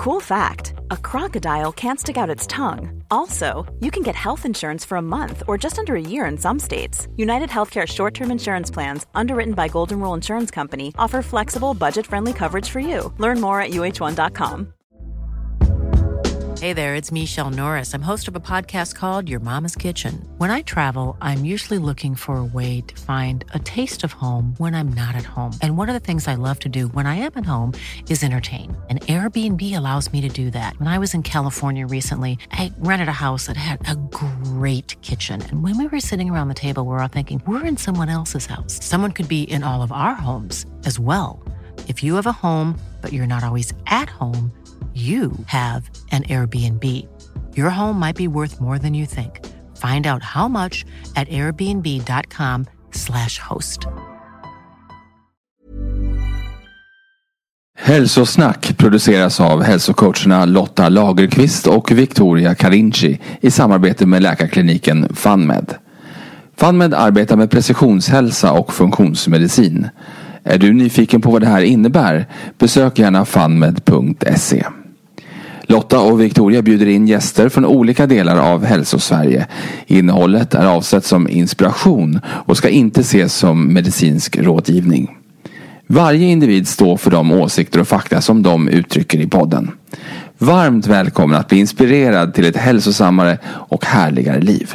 Cool fact, a crocodile can't stick out its tongue. Also, you can get health insurance for a month or just under a year in some states. United Healthcare short-term insurance plans, underwritten by Golden Rule Insurance Company, offer flexible, budget-friendly coverage for you. Learn more at uh1.com. Hey there, it's Michelle Norris. I'm host of a podcast called Your Mama's Kitchen. When I travel, I'm usually looking for a way to find a taste of home when I'm not at home. And one of the things I love to do when I am at home is entertain. And Airbnb allows me to do that. When I was in California recently, I rented a house that had a great kitchen. And when we were sitting around the table, we're all thinking, we're in someone else's house. Someone could be in all of our homes as well. If you have a home, but you're not always at home, you have an Airbnb. Your home might be worth more than you think. Find out how much at airbnb.com/host. Hälsosnack produceras av hälsocoacherna Lotta Lagerqvist och Victoria Carinci i samarbete med läkarkliniken FunMed. FunMed arbetar med precisionshälsa och funktionsmedicin. Är du nyfiken på vad det här innebär? Besök gärna funmed.se. Lotta och Victoria bjuder in gäster från olika delar av Hälsosverige. Innehållet är avsett som inspiration och ska inte ses som medicinsk rådgivning. Varje individ står för de åsikter och fakta som de uttrycker i podden. Varmt välkommen att bli inspirerad till ett hälsosammare och härligare liv.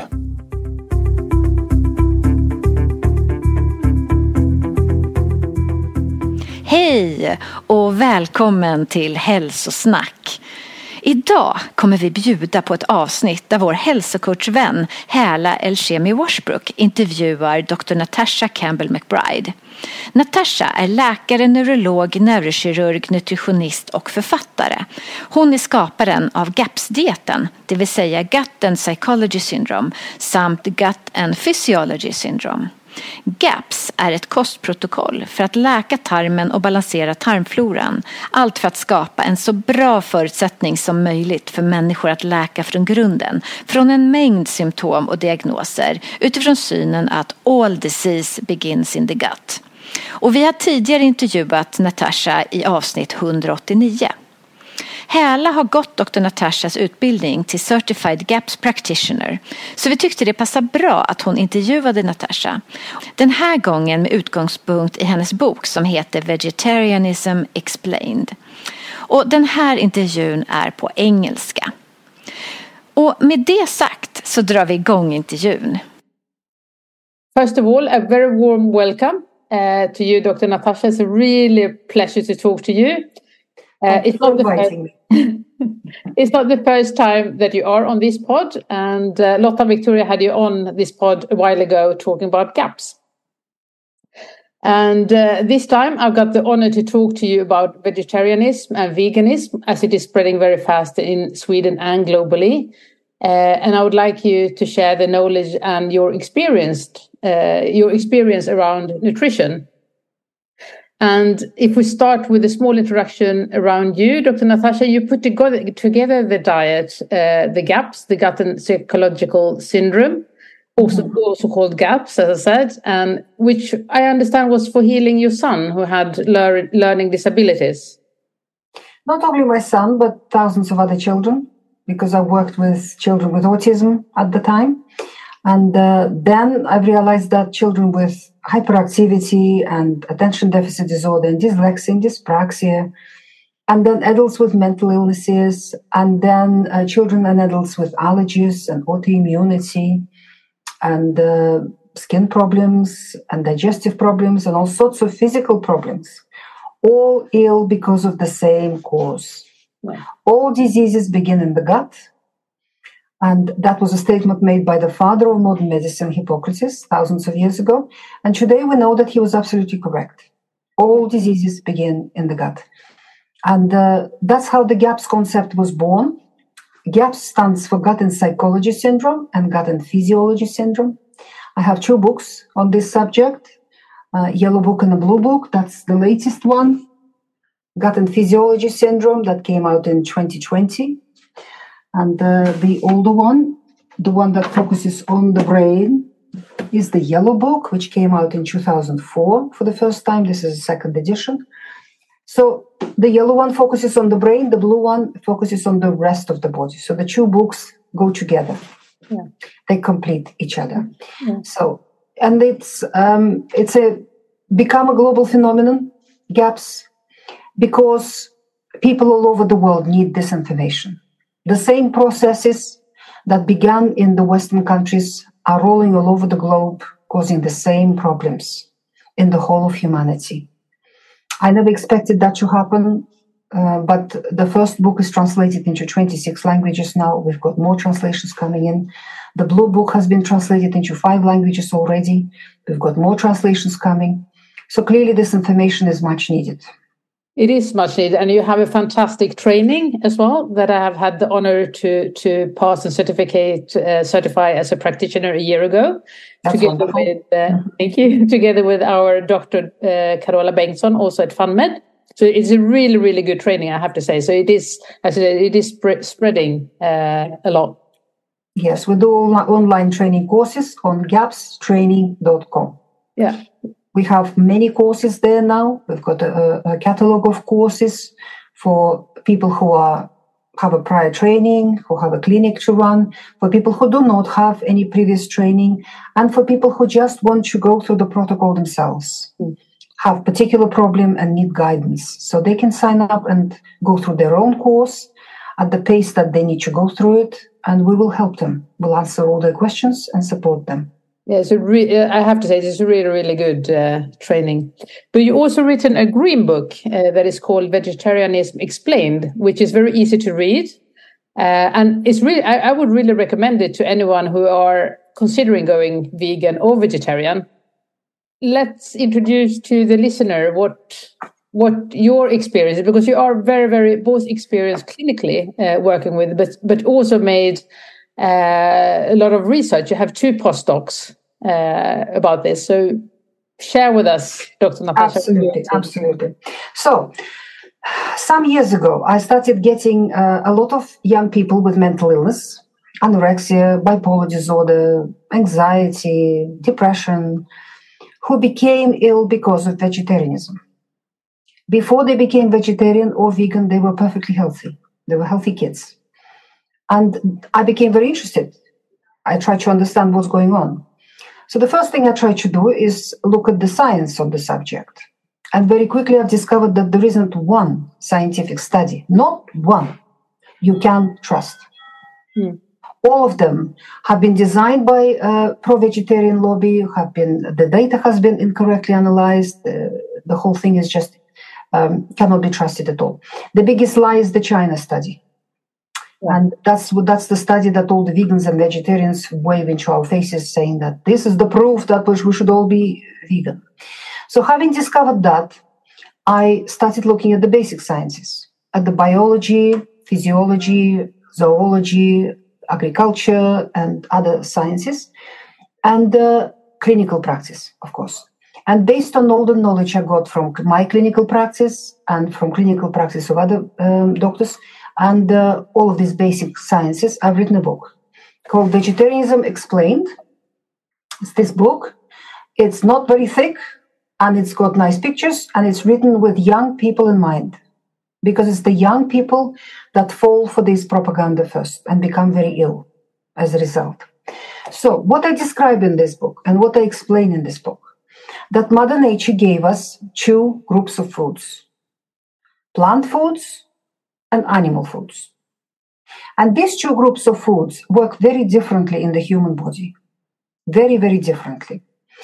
Hej och välkommen till Hälsosnack. Idag kommer vi bjuda på ett avsnitt där vår hälsocoachvän Häla Elshemi Washbrook intervjuar Dr. Natasha Campbell McBride. Natasha är läkare, neurolog, neurokirurg, nutritionist och författare. Hon är skaparen av GAPS-dieten, det vill säga Gut and Psychology Syndrome, samt Gut and Physiology Syndrome. GAPS är ett kostprotokoll för att läka tarmen och balansera tarmfloran. Allt för att skapa en så bra förutsättning som möjligt för människor att läka från grunden. Från en mängd symptom och diagnoser utifrån synen att all disease begins in the gut. Och vi har tidigare intervjuat Natasha i avsnitt 189. Häla har gått Dr. Natashas utbildning till Certified GAPS Practitioner, så vi tyckte det passade bra att hon intervjuade Natasha. Den här gången med utgångspunkt i hennes bok som heter Vegetarianism Explained. Och den här intervjun är på engelska. Och med det sagt så drar vi igång intervjun. First of all, a very warm welcome to you, Dr. Natasha. It's a really pleasure to talk to you. It's not the first time that you are on this pod, and Lotta and Victoria had you on this pod a while ago talking about GAPS. And this time I've got the honor to talk to you about vegetarianism and veganism as it is spreading very fast in Sweden and globally. And I would like you to share the knowledge and your experience around nutrition. And if we start with a small introduction around you, Dr. Natasha, you put together the diet, the GAPS, the Gut and Psychological Syndrome, also called GAPS, as I said, and which I understand was for healing your son who had learning disabilities. Not only my son, but thousands of other children, because I worked with children with autism at the time. And then I realized that children with hyperactivity and attention deficit disorder and dyslexia and dyspraxia, and then adults with mental illnesses, and then children and adults with allergies and autoimmunity and skin problems and digestive problems and all sorts of physical problems, all ill because of the same cause. Wow. All diseases begin in the gut. And that was a statement made by the father of modern medicine, Hippocrates, thousands of years ago. And today we know that he was absolutely correct. All diseases begin in the gut. And that's how the GAPS concept was born. GAPS stands for Gut and Psychology Syndrome and Gut and Physiology Syndrome. I have 2 books on this subject, Yellow Book and a Blue Book. That's the latest one. Gut and Physiology Syndrome that came out in 2020. And the older one, the one that focuses on the brain, is the Yellow Book, which came out in 2004 for the first time. This is a second edition. So the yellow one focuses on the brain, the blue one focuses on the rest of the body. So the two books go together. Yeah. They complete each other. Yeah. So, and it's become a global phenomenon, GAPS, because people all over the world need this information. The same processes that began in the Western countries are rolling all over the globe, causing the same problems in the whole of humanity. I never expected that to happen, but the first book is translated into 26 languages now. We've got more translations coming in. The blue book has been translated into 5 languages already. We've got more translations coming. So clearly this information is much needed. It is much needed, and you have a fantastic training as well that I have had the honor to pass and certify as a practitioner a year ago. That's together wonderful. with thank you, together with our Dr. Carola Bengtsson, also at FunMed. So it's a really, really good training, I have to say. So it is, as I said, it is spreading a lot. Yes, we do online training courses on gapstraining.com. Yeah. We have many courses there now. We've got a catalog of courses for people who have a prior training, who have a clinic to run, for people who do not have any previous training, and for people who just want to go through the protocol themselves, have particular problem and need guidance. So they can sign up and go through their own course at the pace that they need to go through it, and we will help them. We'll answer all their questions and support them. Yeah, so I have to say, this is a really, really good training. But you also written a green book that is called Vegetarianism Explained, which is very easy to read. And it's really, I would really recommend it to anyone who are considering going vegan or vegetarian. Let's introduce to the listener what your experience is, because you are very, very both experienced clinically working with, but also made a lot of research. You have 2 postdocs about this. So share with us, Dr. Natasha. Absolutely. So some years ago, I started getting a lot of young people with mental illness, anorexia, bipolar disorder, anxiety, depression, who became ill because of vegetarianism. Before they became vegetarian or vegan, they were perfectly healthy. They were healthy kids. And I became very interested. I tried to understand what's going on. So the first thing I tried to do is look at the science of the subject. And very quickly I've discovered that there isn't one scientific study, not one, you can trust. All of them have been designed by pro-vegetarian lobby, the data has been incorrectly analyzed. The whole thing is just cannot be trusted at all. The biggest lie is the China study. And that's the study that all the vegans and vegetarians wave into our faces, saying that this is the proof that we should all be vegan. So having discovered that, I started looking at the basic sciences, at the biology, physiology, zoology, agriculture, and other sciences, and clinical practice, of course. And based on all the knowledge I got from my clinical practice and from clinical practice of other doctors, and all of these basic sciences, I've written a book called Vegetarianism Explained. It's this book. It's not very thick, and it's got nice pictures, and it's written with young people in mind, because it's the young people that fall for this propaganda first and become very ill as a result. So what I describe in this book and what I explain in this book, that Mother Nature gave us 2 groups of foods, plant foods and animal foods. And these 2 groups of foods work very differently in the human body. Very, very differently.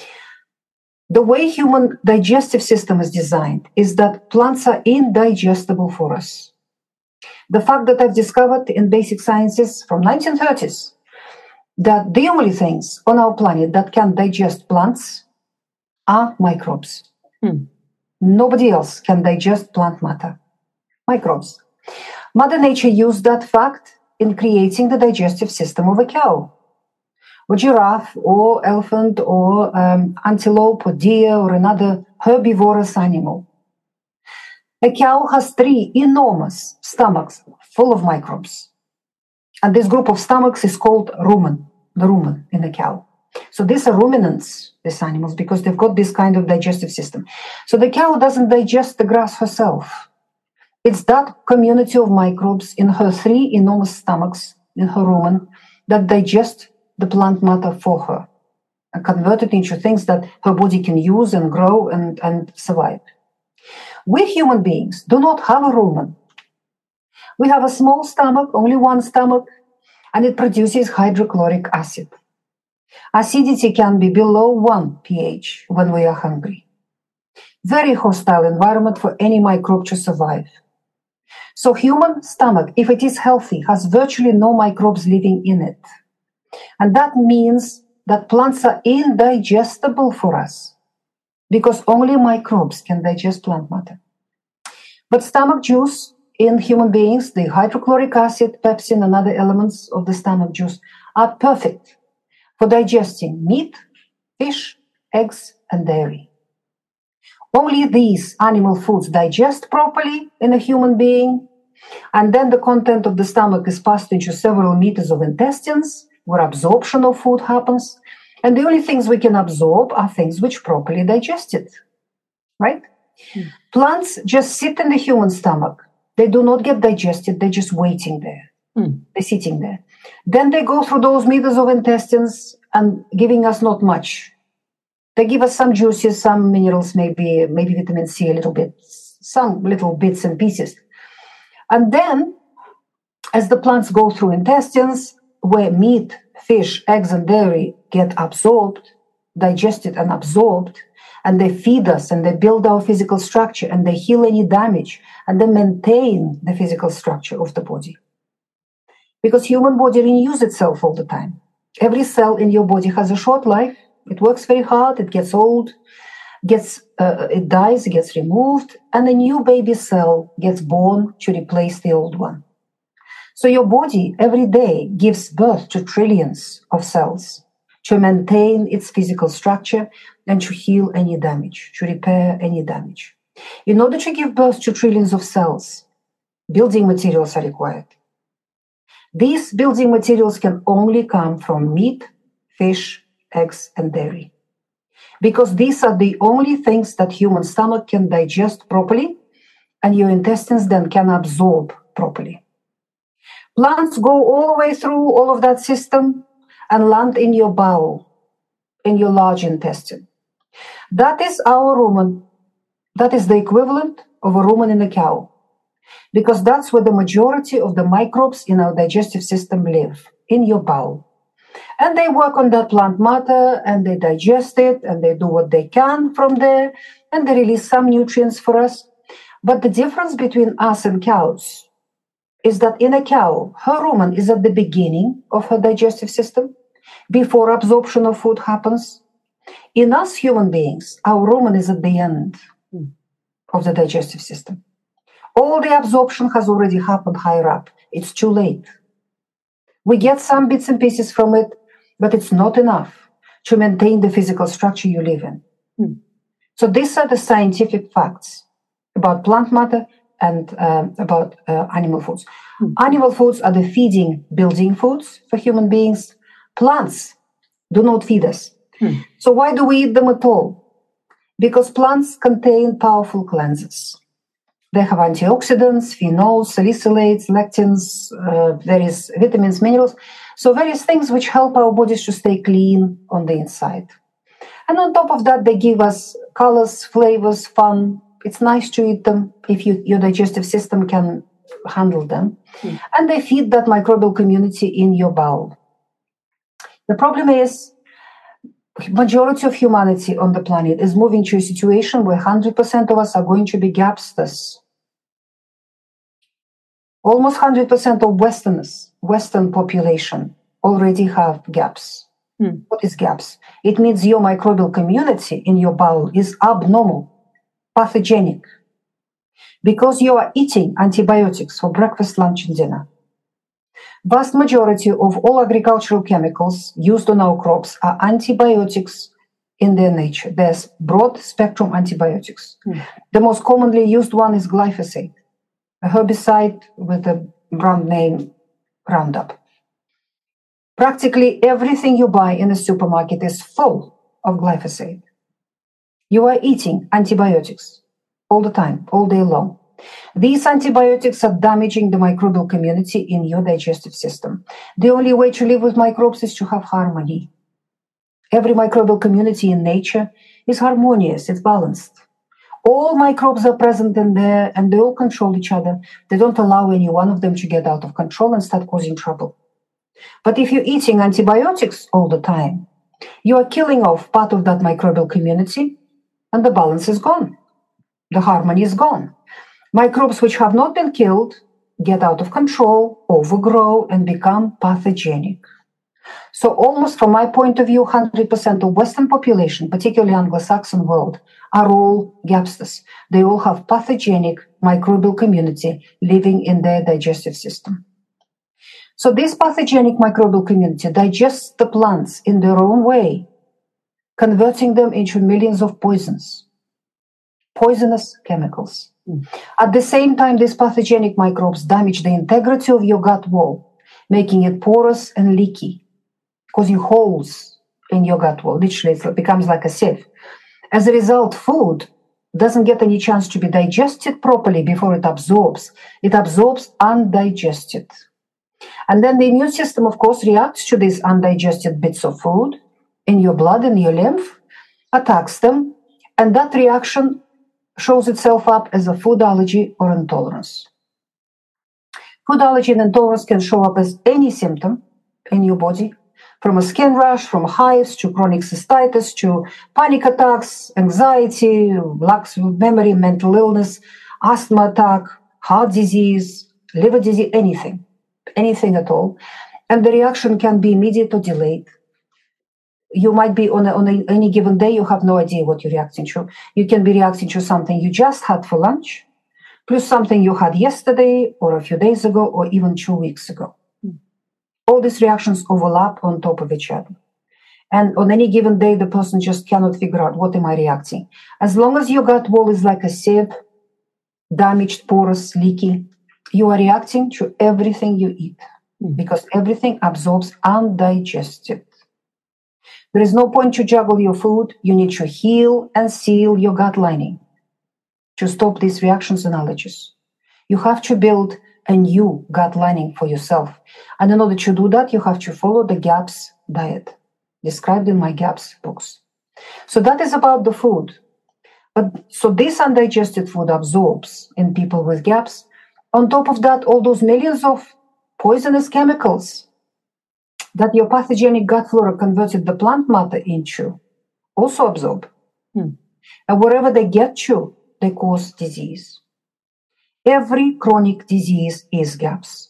The way human digestive system is designed is that plants are indigestible for us. The fact that I've discovered in basic sciences from 1930s that the only things on our planet that can digest plants are microbes. Nobody else can digest plant matter. Microbes. Mother Nature used that fact in creating the digestive system of a cow, or giraffe, or elephant, or antelope, or deer, or another herbivorous animal. A cow has 3 enormous stomachs full of microbes. And this group of stomachs is called rumen, the rumen in a cow. So these are ruminants, these animals, because they've got this kind of digestive system. So the cow doesn't digest the grass herself. It's that community of microbes in her 3 enormous stomachs, in her rumen, that digest the plant matter for her and convert it into things that her body can use and grow and survive. We human beings do not have a rumen. We have a small stomach, only one stomach, and it produces hydrochloric acid. Acidity can be below 1 pH when we are hungry. Very hostile environment for any microbe to survive. So human stomach, if it is healthy, has virtually no microbes living in it. And that means that plants are indigestible for us because only microbes can digest plant matter. But stomach juice in human beings, the hydrochloric acid, pepsin, and other elements of the stomach juice are perfect for digesting meat, fish, eggs, and dairy. Only these animal foods digest properly in a human being, and then the content of the stomach is passed into several meters of intestines, where absorption of food happens, and the only things we can absorb are things which properly digest it, right? Plants just sit in the human stomach. They do not get digested, they're just waiting there. They're sitting there. Then they go through those meters of intestines and giving us not much. They give us some juices, some minerals, maybe vitamin C a little bit, some little bits and pieces. And then, as the plants go through intestines, where meat, fish, eggs, and dairy get absorbed, digested and absorbed, and they feed us and they build our physical structure and they heal any damage and they maintain the physical structure of the body. Because human body renews itself all the time. Every cell in your body has a short life. It works very hard, it gets old, it dies, it gets removed, and a new baby cell gets born to replace the old one. So your body every day gives birth to trillions of cells to maintain its physical structure and to heal any damage, to repair any damage. In order to give birth to trillions of cells, building materials are required. These building materials can only come from meat, fish, eggs, and dairy. Because these are the only things that human stomach can digest properly and your intestines then can absorb properly. Plants go all the way through all of that system and land in your bowel, in your large intestine. That is our rumen. That is the equivalent of a rumen in a cow. Because that's where the majority of the microbes in our digestive system live, in your bowel. And they work on that plant matter and they digest it and they do what they can from there and they release some nutrients for us. But the difference between us and cows is that in a cow, her rumen is at the beginning of her digestive system, before absorption of food happens. In us human beings, our rumen is at the end of the digestive system. All the absorption has already happened higher up. It's too late. We get some bits and pieces from it, but it's not enough to maintain the physical structure you live in. So these are the scientific facts about plant matter and about animal foods. Animal foods are the feeding, building foods for human beings. Plants do not feed us. So why do we eat them at all? Because plants contain powerful cleansers. They have antioxidants, phenols, salicylates, lectins, various vitamins, minerals. So various things which help our bodies to stay clean on the inside. And on top of that, they give us colors, flavors, fun. It's nice to eat them if your digestive system can handle them. And they feed that microbial community in your bowel. The problem is, majority of humanity on the planet is moving to a situation where 100% of us are going to be gapsters. Almost 100% of Western population already have gaps. What is gaps? It means your microbial community in your bowel is abnormal, pathogenic, because you are eating antibiotics for breakfast, lunch, and dinner. Vast majority of all agricultural chemicals used on our crops are antibiotics in their nature. There's broad spectrum antibiotics. The most commonly used one is glyphosate, a herbicide with the brand name Roundup. Practically everything you buy in the supermarket is full of glyphosate. You are eating antibiotics all the time, all day long. These antibiotics are damaging the microbial community in your digestive system. The only way to live with microbes is to have harmony. Every microbial community in nature is harmonious, it's balanced. All microbes are present in there and they all control each other. They don't allow any one of them to get out of control and start causing trouble. But if you're eating antibiotics all the time, you are killing off part of that microbial community and the balance is gone. The harmony is gone. Microbes which have not been killed get out of control, overgrow, and become pathogenic. So almost from my point of view, 100% of Western population, particularly Anglo-Saxon world, are all GAPsters. They all have pathogenic microbial community living in their digestive system. So this pathogenic microbial community digests the plants in their own way, converting them into millions of poisonous chemicals. At the same time, these pathogenic microbes damage the integrity of your gut wall, making it porous and leaky, causing holes in your gut wall. Literally, it becomes like a sieve. As a result, food doesn't get any chance to be digested properly before it absorbs. It absorbs undigested. And then the immune system, of course, reacts to these undigested bits of food in your blood, in your lymph, attacks them, and that reaction shows itself up as a food allergy or intolerance. Food allergy and intolerance can show up as any symptom in your body, from a skin rash, from hives to chronic cystitis to panic attacks, anxiety, lack of memory, mental illness, asthma attack, heart disease, liver disease, anything at all. And the reaction can be immediate or delayed. You might be on any given day, you have no idea what you're reacting to. You can be reacting to something you just had for lunch, plus something you had yesterday or a few days ago or even 2 weeks ago. All these reactions overlap on top of each other. And on any given day, the person just cannot figure out, what am I reacting? As long as your gut wall is like a sieve, damaged, porous, leaky, you are reacting to everything you eat because everything absorbs undigested. There is no point to juggle your food. You need to heal and seal your gut lining to stop these reactions and allergies. You have to build a new gut lining for yourself. And in order to do that, you have to follow the GAPS diet, described in my GAPS books. So that is about the food. But so this undigested food absorbs in people with GAPS. On top of that, all those millions of poisonous chemicals that your pathogenic gut flora converted the plant matter into also absorb. And wherever they get to, they cause disease. Every chronic disease is GAPS.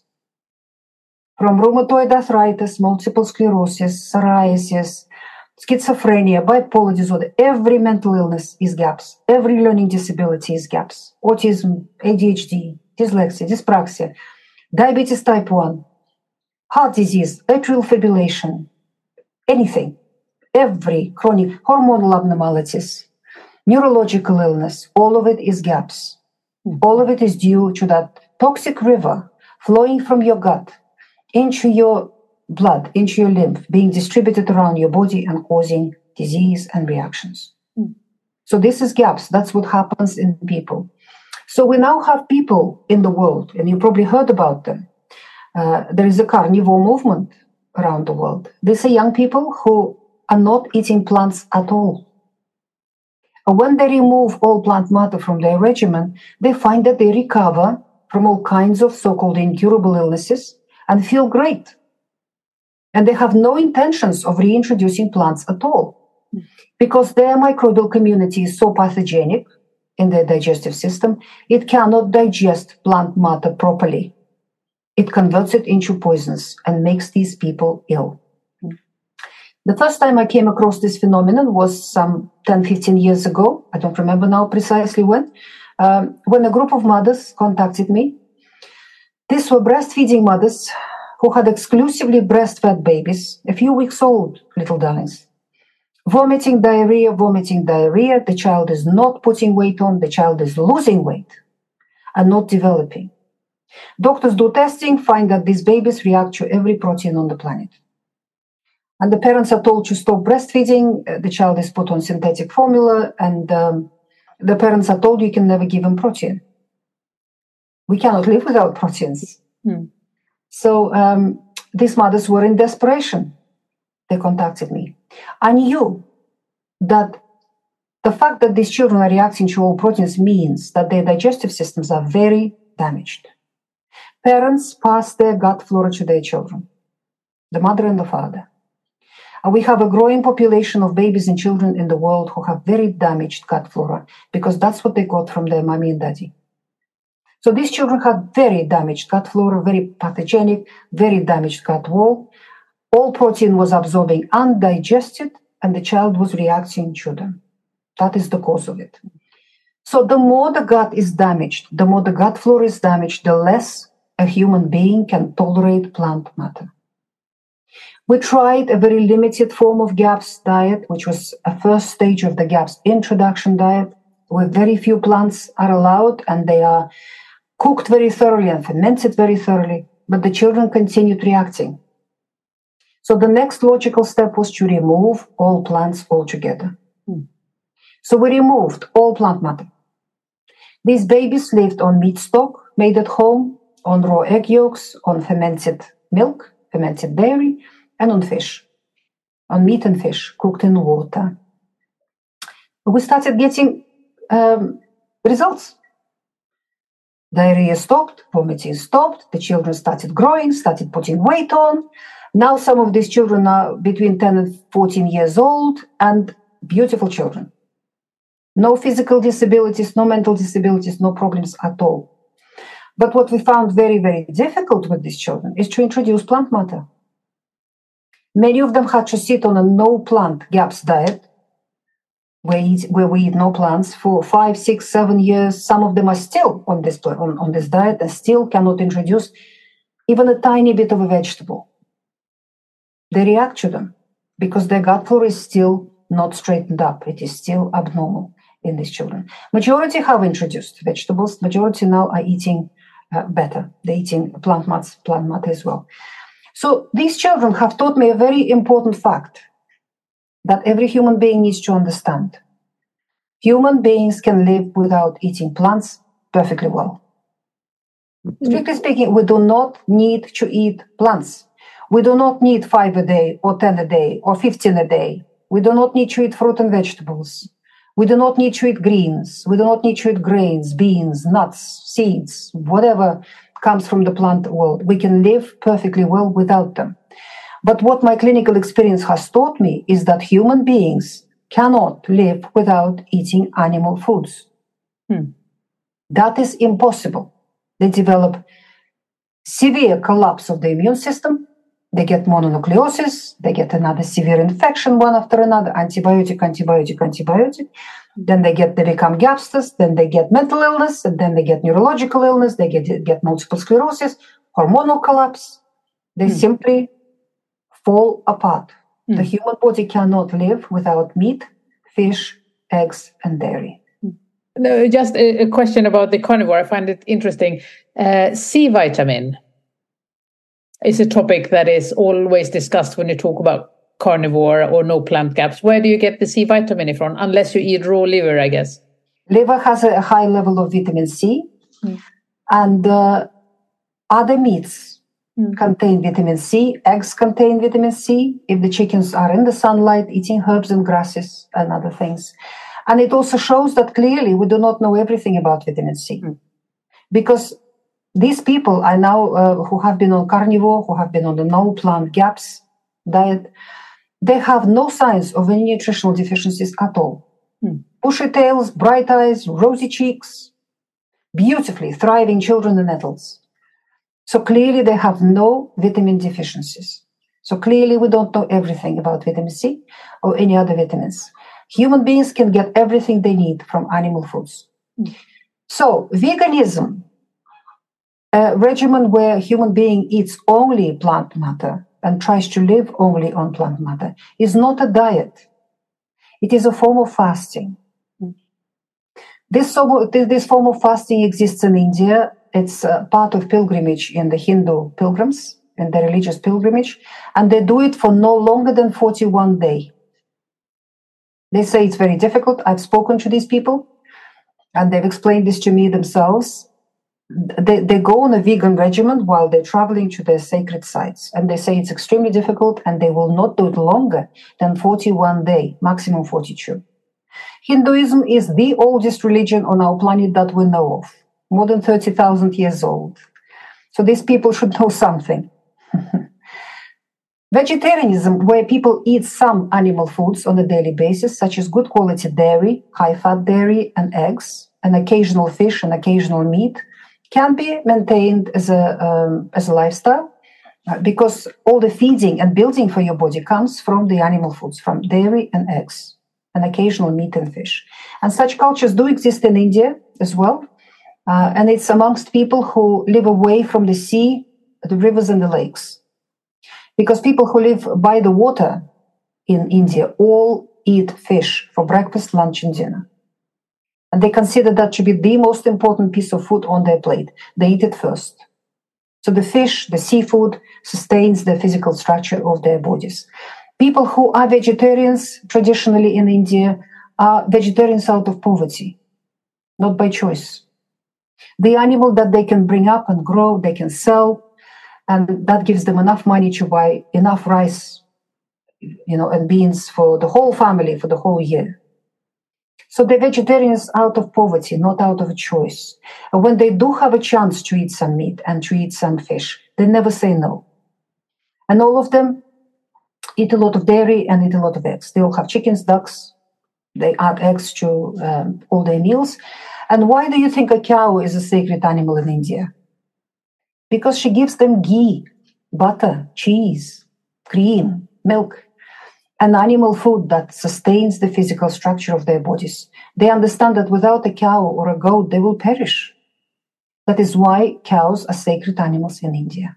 From rheumatoid arthritis, multiple sclerosis, psoriasis, schizophrenia, bipolar disorder, every mental illness is GAPS. Every learning disability is GAPS. Autism, ADHD, dyslexia, dyspraxia, diabetes type 1, heart disease, atrial fibrillation, anything. Every chronic hormonal abnormalities, neurological illness, all of it is GAPS. All of it is due to that toxic river flowing from your gut into your blood, into your lymph, being distributed around your body and causing disease and reactions. So this is GAPS. That's what happens in people. So we now have people in the world, and you probably heard about them. There is a carnivore movement around the world. These are young people who are not eating plants at all. When they remove all plant matter from their regimen, they find that they recover from all kinds of so-called incurable illnesses and feel great. And they have no intentions of reintroducing plants at all because their microbial community is so pathogenic in their digestive system, it cannot digest plant matter properly. It converts it into poisons and makes these people ill. The first time I came across this phenomenon was some 10, 15 years ago. I don't remember now precisely when a group of mothers contacted me. These were breastfeeding mothers who had exclusively breastfed babies, a few weeks old, little darlings. Vomiting, diarrhea. The child is not putting weight on. The child is losing weight and not developing. Doctors do testing, find that these babies react to every protein on the planet. And the parents are told to stop breastfeeding. The child is put on synthetic formula, and the parents are told you can never give him protein. We cannot live without proteins. So these mothers were in desperation. They contacted me. I knew that the fact that these children are reacting to all proteins means that their digestive systems are very damaged. Parents pass their gut flora to their children, the mother and the father. And we have a growing population of babies and children in the world who have very damaged gut flora because that's what they got from their mommy and daddy. So these children had very damaged gut flora, very pathogenic, very damaged gut wall. All protein was absorbing undigested, and the child was reacting to them. That is the cause of it. So the more the gut is damaged, the more the gut flora is damaged, the less a human being can tolerate plant matter. We tried a very limited form of GAPS diet, which was a first stage of the GAPS introduction diet, where very few plants are allowed, and they are cooked very thoroughly and fermented very thoroughly, but the children continued reacting. So the next logical step was to remove all plants altogether. So we removed all plant matter. These babies lived on meat stock made at home, on raw egg yolks, on fermented milk, fermented dairy, and on fish, on meat and fish cooked in water. We started getting results. Diarrhea stopped, vomiting stopped, the children started growing, started putting weight on. Now some of these children are between 10 and 14 years old and beautiful children. No physical disabilities, no mental disabilities, no problems at all. But what we found very, very difficult with these children is to introduce plant matter. Many of them had to sit on a no-plant GAPS diet, where we eat no plants for 5, 6, 7 years. Some of them are still on this diet and still cannot introduce even a tiny bit of a vegetable. They react to them because their gut flora is still not straightened up. It is still abnormal in these children. Majority have introduced vegetables. Majority now are eating better. They're eating plant matter as well. So these children have taught me a very important fact that every human being needs to understand. Human beings can live without eating plants perfectly well. Strictly speaking, we do not need to eat plants. We do not need 5 a day or 10 a day or 15 a day. We do not need to eat fruit and vegetables. We do not need to eat greens. We do not need to eat grains, beans, nuts, seeds, whatever comes from the plant world. We can live perfectly well without them. But what my clinical experience has taught me is that human beings cannot live without eating animal foods. That is impossible. They develop severe collapse of the immune system. They get mononucleosis. They get another severe infection one after another, antibiotic. Then they become gapsters. Then they get mental illness, and then they get neurological illness. They get multiple sclerosis, hormonal collapse. They simply fall apart. The human body cannot live without meat, fish, eggs, and dairy. No, just a question about the carnivore. I find it interesting. C vitamin is a topic that is always discussed when you talk about carnivore or no plant GAPS. Where do you get the C vitamin from? Unless you eat raw liver, I guess. Liver has a high level of vitamin C, and other meats contain vitamin C. Eggs contain vitamin C if the chickens are in the sunlight eating herbs and grasses and other things. And it also shows that clearly we do not know everything about vitamin C. Because these people I now who have been on carnivore, who have been on the no-plant GAPS diet, they have no signs of any nutritional deficiencies at all. Bushy tails, bright eyes, rosy cheeks, beautifully thriving children and adults. So clearly they have no vitamin deficiencies. So clearly we don't know everything about vitamin C or any other vitamins. Human beings can get everything they need from animal foods. So veganism, a regimen where a human being eats only plant matter and tries to live only on plant matter, is not a diet. It is a form of fasting. This form of fasting exists in India. It's part of pilgrimage in the Hindu pilgrims. in their religious pilgrimage, and they do it for no longer than 41 days. They say it's very difficult. I've spoken to these people, and they've explained this to me themselves. They go on a vegan regimen while they're traveling to their sacred sites, and they say it's extremely difficult, and they will not do it longer than 41 days, maximum 42. Hinduism is the oldest religion on our planet that we know of, more than 30,000 years old. So these people should know something. Vegetarianism, where people eat some animal foods on a daily basis, such as good quality dairy, high-fat dairy, and eggs, and occasional fish and occasional meat, can be maintained as a lifestyle because all the feeding and building for your body comes from the animal foods, from dairy and eggs, and occasional meat and fish. And such cultures do exist in India as well. And it's amongst people who live away from the sea, the rivers and the lakes. Because people who live by the water in India all eat fish for breakfast, lunch, and dinner. And they consider that to be the most important piece of food on their plate. They eat it first. So the fish, the seafood, sustains the physical structure of their bodies. People who are vegetarians traditionally in India are vegetarians out of poverty, not by choice. The animal that they can bring up and grow, they can sell, and that gives them enough money to buy enough rice, and beans for the whole family for the whole year. So they're vegetarians out of poverty, not out of a choice. And when they do have a chance to eat some meat and to eat some fish, they never say no. And all of them eat a lot of dairy and eat a lot of eggs. They all have chickens, ducks. They add eggs to all their meals. And why do you think a cow is a sacred animal in India? Because she gives them ghee, butter, cheese, cream, milk, and animal food that sustains the physical structure of their bodies. They understand that without a cow or a goat, they will perish. That is why cows are sacred animals in India.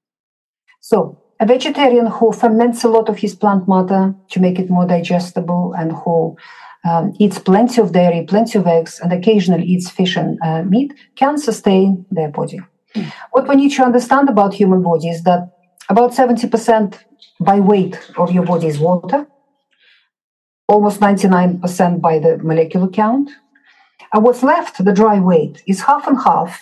So, a vegetarian who ferments a lot of his plant matter to make it more digestible and who eats plenty of dairy, plenty of eggs, and occasionally eats fish and meat can sustain their body. What we need to understand about human body is that about 70% by weight of your body is water, almost 99% by the molecular count. And what's left, the dry weight, is half and half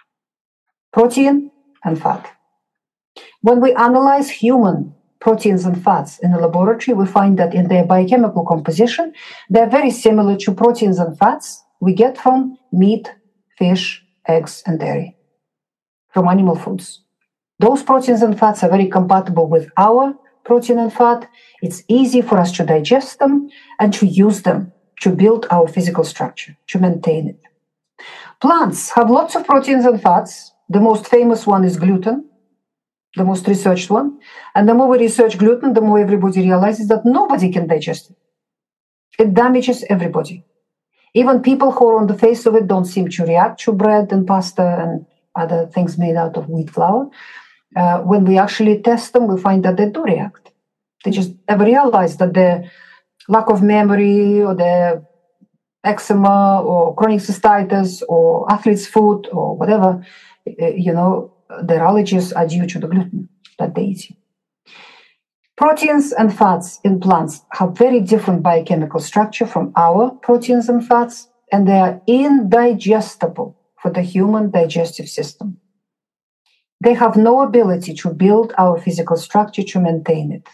protein and fat. When we analyze human proteins and fats in the laboratory, we find that in their biochemical composition, they're very similar to proteins and fats we get from meat, fish, eggs, and dairy, from animal foods. Those proteins and fats are very compatible with our protein and fat. It's easy for us to digest them and to use them to build our physical structure, to maintain it. Plants have lots of proteins and fats. The most famous one is gluten, the most researched one. And the more we research gluten, the more everybody realizes that nobody can digest it. It damages everybody. Even people who are on the face of it don't seem to react to bread and pasta and other things made out of wheat flour. When we actually test them, we find that they do react. They just never realize that their lack of memory or their eczema or chronic cystitis or athlete's foot or whatever, their allergies are due to the gluten that they eat. Proteins and fats in plants have very different biochemical structure from our proteins and fats, and they are indigestible for the human digestive system. They have no ability to build our physical structure to maintain it.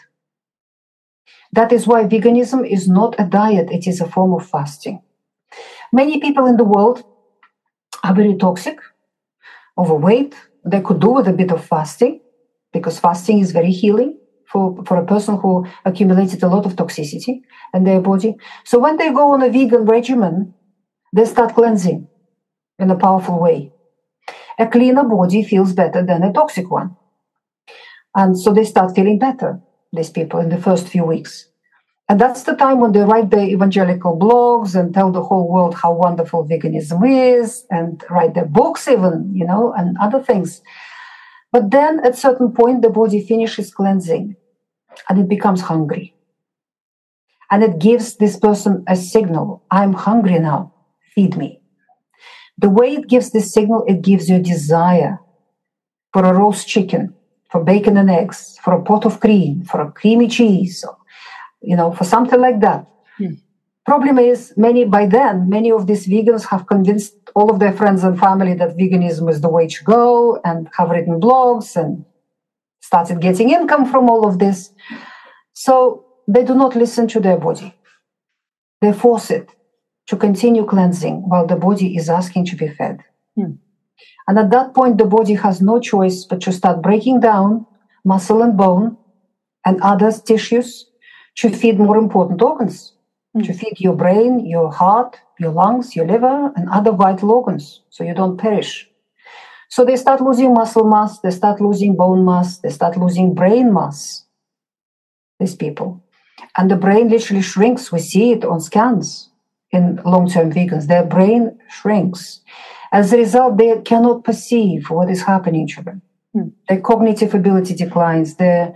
That is why veganism is not a diet, it is a form of fasting. Many people in the world are very toxic, overweight. They could do with a bit of fasting, because fasting is very healing for a person who accumulated a lot of toxicity in their body. So when they go on a vegan regimen, they start cleansing in a powerful way. A cleaner body feels better than a toxic one. And so they start feeling better, these people, in the first few weeks. And that's the time when they write their evangelical blogs and tell the whole world how wonderful veganism is, and write their books even, and other things. But then at a certain point, the body finishes cleansing and it becomes hungry. And it gives this person a signal: I'm hungry now, feed me. The way it gives this signal, it gives you a desire for a roast chicken, for bacon and eggs, for a pot of cream, for a creamy cheese, for something like that. Problem is, many of these vegans have convinced all of their friends and family that veganism is the way to go, and have written blogs and started getting income from all of this. So they do not listen to their body. They force it to continue cleansing while the body is asking to be fed. And at that point, the body has no choice but to start breaking down muscle and bone and other tissues to feed more important organs, to feed your brain, your heart, your lungs, your liver, and other vital organs, so you don't perish. So they start losing muscle mass, they start losing bone mass, they start losing brain mass, these people. And the brain literally shrinks. We see it on scans in long-term vegans. Their brain shrinks. As a result, they cannot perceive what is happening to them. Their cognitive ability declines, their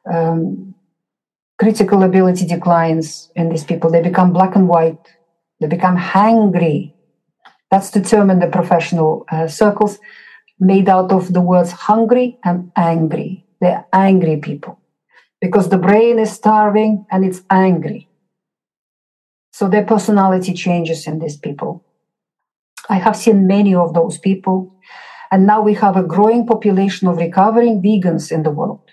critical ability declines in these people. They become black and white. They become hangry. That's the term in the professional circles, made out of the words hungry and angry. They're angry people because the brain is starving and it's angry. So their personality changes in these people. I have seen many of those people, and now we have a growing population of recovering vegans in the world.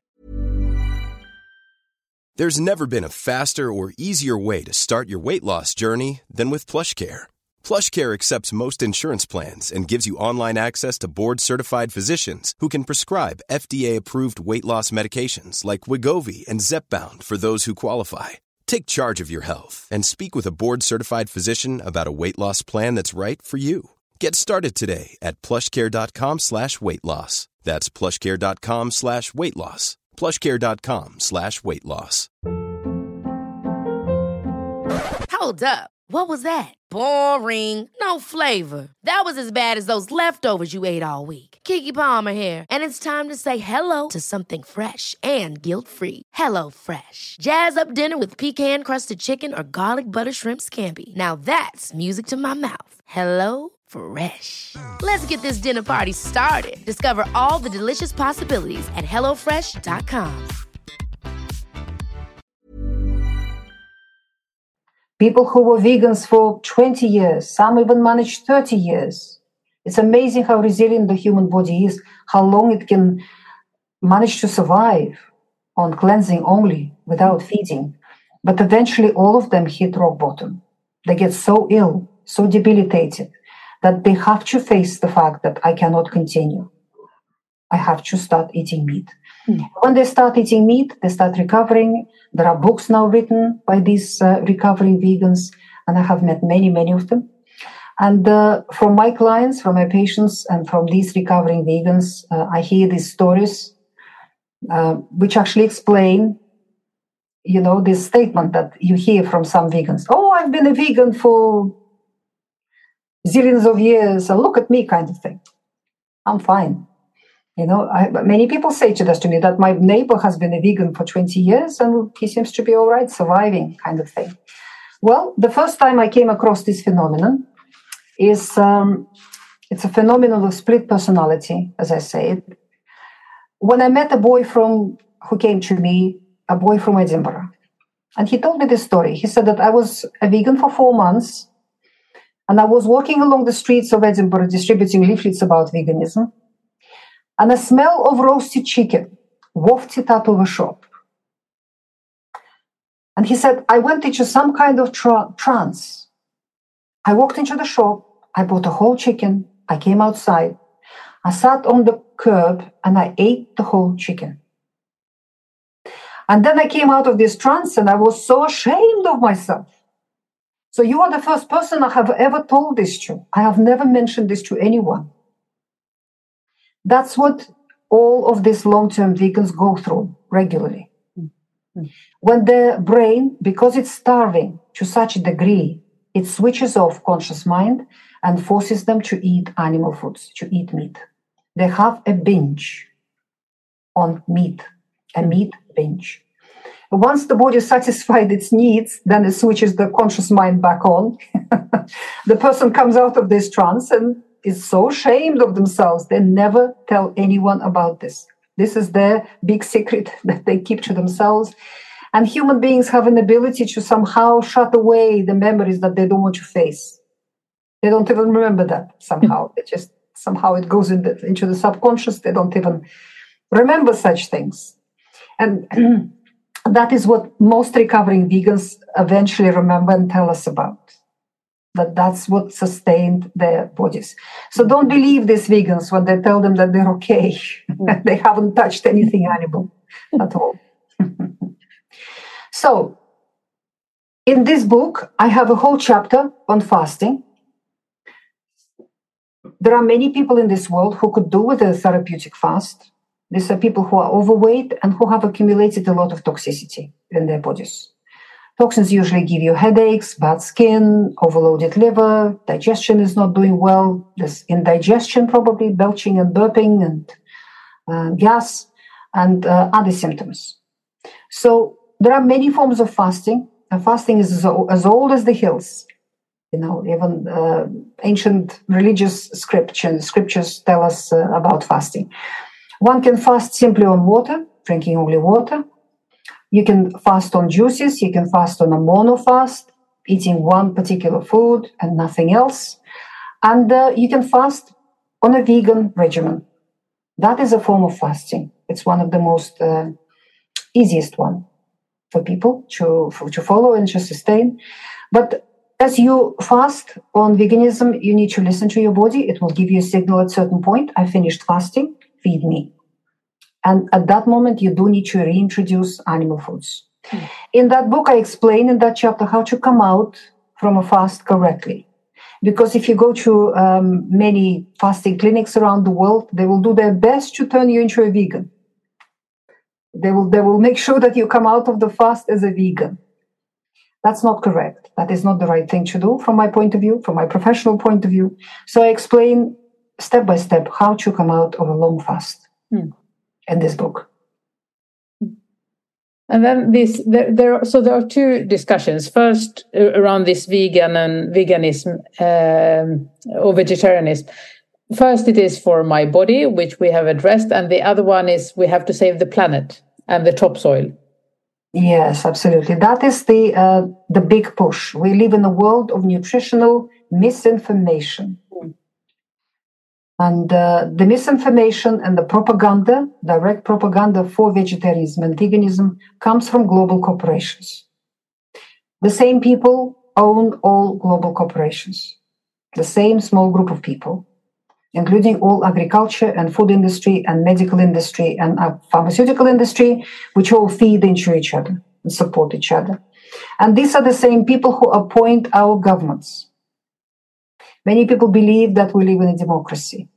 There's never been a faster or easier way to start your weight loss journey than with PlushCare. PlushCare accepts most insurance plans and gives you online access to board-certified physicians who can prescribe FDA-approved weight loss medications like Wegovy and Zepbound for those who qualify. Take charge of your health and speak with a board-certified physician about a weight loss plan that's right for you. Get started today at plushcare.com/weightloss. That's plushcare.com/weightloss. plushcare.com/weightloss. Hold up. What was that? Boring. No flavor. That was as bad as those leftovers you ate all week. Keke Palmer here. And it's time to say hello to something fresh and guilt-free. Hello Fresh. Jazz up dinner with pecan-crusted chicken or garlic butter shrimp scampi. Now that's music to my mouth. Hello Fresh. Let's get this dinner party started. Discover all the delicious possibilities at HelloFresh.com. People who were vegans for 20 years, some even managed 30 years. It's amazing how resilient the human body is, how long it can manage to survive on cleansing only, without feeding. But eventually all of them hit rock bottom. They get so ill, so debilitated, that they have to face the fact that I cannot continue. I have to start eating meat. When they start eating meat, they start recovering. There are books now written by these recovering vegans, and I have met many, many of them. And from my clients, from my patients, and from these recovering vegans, I hear these stories, which actually explain, this statement that you hear from some vegans. Oh, I've been a vegan for zillions of years, and look at me, kind of thing. I'm fine. Many people say to me that my neighbor has been a vegan for 20 years and he seems to be all right, surviving, kind of thing. Well, the first time I came across this phenomenon is, it's a phenomenon of split personality, as I say. When I met a boy who came to me, a boy from Edinburgh, and he told me this story. He said that I was a vegan for 4 months, and I was walking along the streets of Edinburgh distributing leaflets about veganism, and a smell of roasted chicken wafted out of a shop. And he said, I went into some kind of trance. I walked into the shop, I bought a whole chicken, I came outside, I sat on the curb and I ate the whole chicken. And then I came out of this trance and I was so ashamed of myself. So you are the first person I have ever told this to. I have never mentioned this to anyone. That's what all of these long-term vegans go through regularly. When the brain, because it's starving to such a degree, it switches off conscious mind and forces them to eat animal foods, to eat meat. They have a binge on meat, a meat binge. Once the body satisfied its needs, then it switches the conscious mind back on. The person comes out of this trance and is so ashamed of themselves, they never tell anyone about this. This is their big secret that they keep to themselves. And human beings have an ability to somehow shut away the memories that they don't want to face. They don't even remember that somehow. It just somehow it goes into the subconscious. They don't even remember such things. And that is what most recovering vegans eventually remember and tell us about. That's what sustained their bodies. So don't believe these vegans when they tell them that they're okay. They haven't touched anything animal at all. So in this book, I have a whole chapter on fasting. There are many people in this world who could do with a therapeutic fast. These are people who are overweight and who have accumulated a lot of toxicity in their bodies. Toxins usually give you headaches, bad skin, overloaded liver, digestion is not doing well, there's indigestion probably, belching and burping and gas and other symptoms. So there are many forms of fasting, and fasting is as old as the hills. You know, even ancient religious scriptures tell us about fasting. One can fast simply on water, drinking only water. You can fast on juices. You can fast on a monofast, eating one particular food and nothing else. And you can fast on a vegan regimen. That is a form of fasting. It's one of the most easiest one for people to follow and to sustain. But as you fast on veganism, you need to listen to your body. It will give you a signal at a certain point. I finished fasting, feed me. And at that moment, you do need to reintroduce animal foods. In that book, I explain in that chapter how to come out from a fast correctly. Because if you go to many fasting clinics around the world, they will do their best to turn you into a vegan. They will make sure that you come out of the fast as a vegan. That's not correct. That is not the right thing to do from my point of view, from my professional point of view. So I explain step by step how to come out of a long fast in this book. And then there are two discussions. First, around this vegan and veganism or vegetarianism. First, it is for my body, which we have addressed, and the other one is we have to save the planet and the topsoil. Yes, absolutely. That is the big push. We live in a world of nutritional misinformation. And the misinformation and the propaganda, direct propaganda for vegetarianism and veganism, comes from global corporations. The same people own all global corporations. The same small group of people, including all agriculture and food industry and medical industry and pharmaceutical industry, which all feed into each other and support each other. And these are the same people who appoint our governments. Many people believe that we live in a democracy.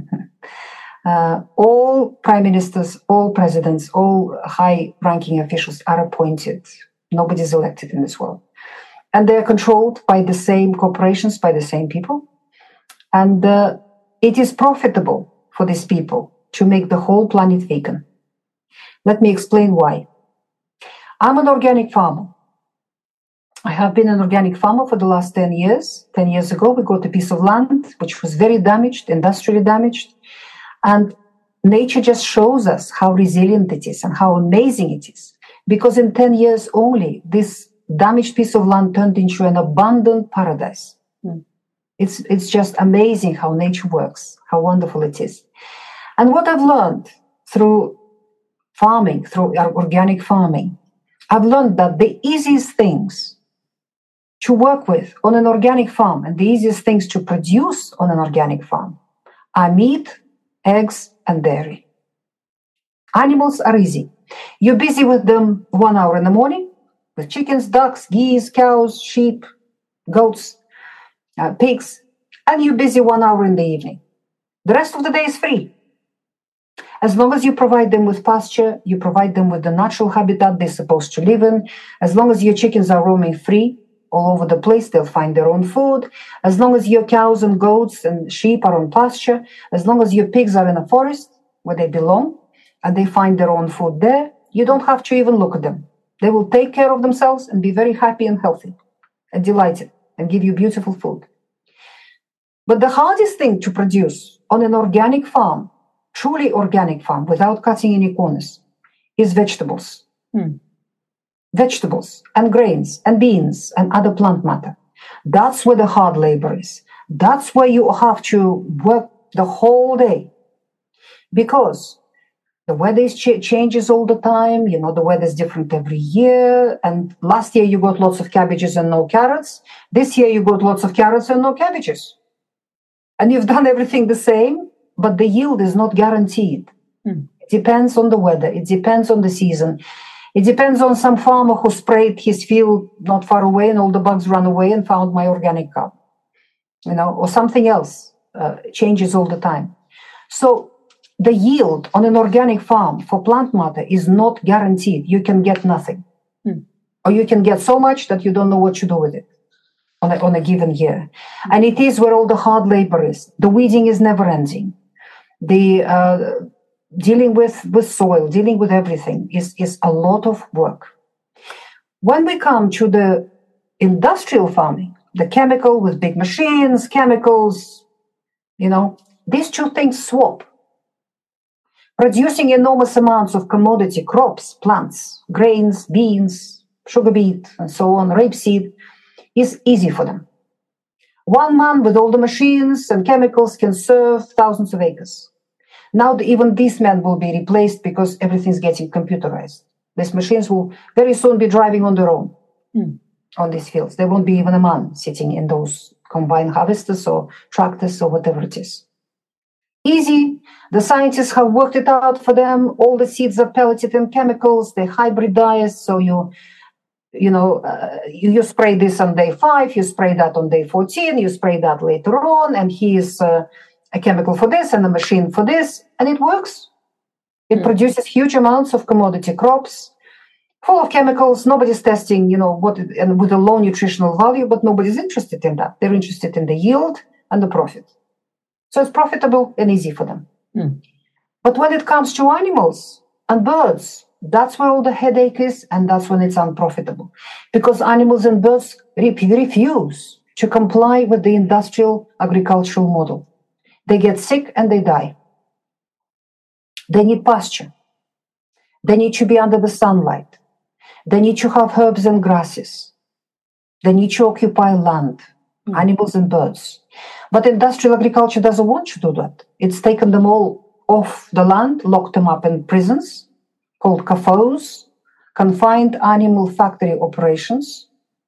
All prime ministers, all presidents, all high-ranking officials are appointed. Nobody is elected in this world. And they are controlled by the same corporations, by the same people. And it is profitable for these people to make the whole planet vegan. Let me explain why. I'm an organic farmer. I have been an organic farmer for the last 10 years. 10 years ago, we got a piece of land which was very damaged, industrially damaged. And nature just shows us how resilient it is and how amazing it is. Because in 10 years only, this damaged piece of land turned into an abundant paradise. It's just amazing how nature works, how wonderful it is. And what I've learned through farming, through organic farming, I've learned that the easiest things to work with on an organic farm and the easiest things to produce on an organic farm are meat, eggs, and dairy. Animals are easy. You're busy with them 1 hour in the morning, with chickens, ducks, geese, cows, sheep, goats, pigs, and you're busy 1 hour in the evening. The rest of the day is free. As long as you provide them with pasture, you provide them with the natural habitat they're supposed to live in, as long as your chickens are roaming free all over the place, they'll find their own food. As long as your cows and goats and sheep are on pasture, as long as your pigs are in a forest where they belong, and they find their own food there, you don't have to even look at them. They will take care of themselves and be very happy and healthy and delighted and give you beautiful food. But the hardest thing to produce on an organic farm truly organic farm without cutting any corners is vegetables. Vegetables and grains and beans and other plant matter. That's where the hard labor is. That's where you have to work the whole day, because the weather changes all the time. You know, the weather is different every year. And last year you got lots of cabbages and no carrots. This year you got lots of carrots and no cabbages. And you've done everything the same, but the yield is not guaranteed. It depends on the weather. It depends on the season. It depends on some farmer who sprayed his field not far away and all the bugs ran away and found my organic cow. You know, or something else changes all the time. So the yield on an organic farm for plant matter is not guaranteed. You can get nothing. Or you can get so much that you don't know what to do with it on a given year. And it is where all the hard labor is. The weeding is never ending. The dealing with soil, dealing with everything is a lot of work. When we come to the industrial farming, the chemical with big machines, chemicals, you know, these two things swap. Producing enormous amounts of commodity crops, plants, grains, beans, sugar beet, and so on, rapeseed, is easy for them. One man with all the machines and chemicals can serve thousands of acres. Now even these men will be replaced because everything's getting computerized. These machines will very soon be driving on their own on these fields. There won't be even a man sitting in those combine harvesters or tractors or whatever it is. Easy. The scientists have worked it out for them. All the seeds are pelleted in chemicals. They hybridize. So you spray this on day 5, you spray that on day 14, you spray that later on, and here's a chemical for this and a machine for this, and it works. It produces huge amounts of commodity crops, full of chemicals. Nobody's testing, and with a low nutritional value, but nobody's interested in that. They're interested in the yield and the profit. So it's profitable and easy for them. But when it comes to animals and birds, that's where all the headache is, and that's when it's unprofitable. Because animals and birds refuse to comply with the industrial agricultural model. They get sick and they die. They need pasture. They need to be under the sunlight. They need to have herbs and grasses. They need to occupy land, animals and birds. But industrial agriculture doesn't want to do that. It's taken them all off the land, locked them up in prisons called CAFOs, confined animal factory operations.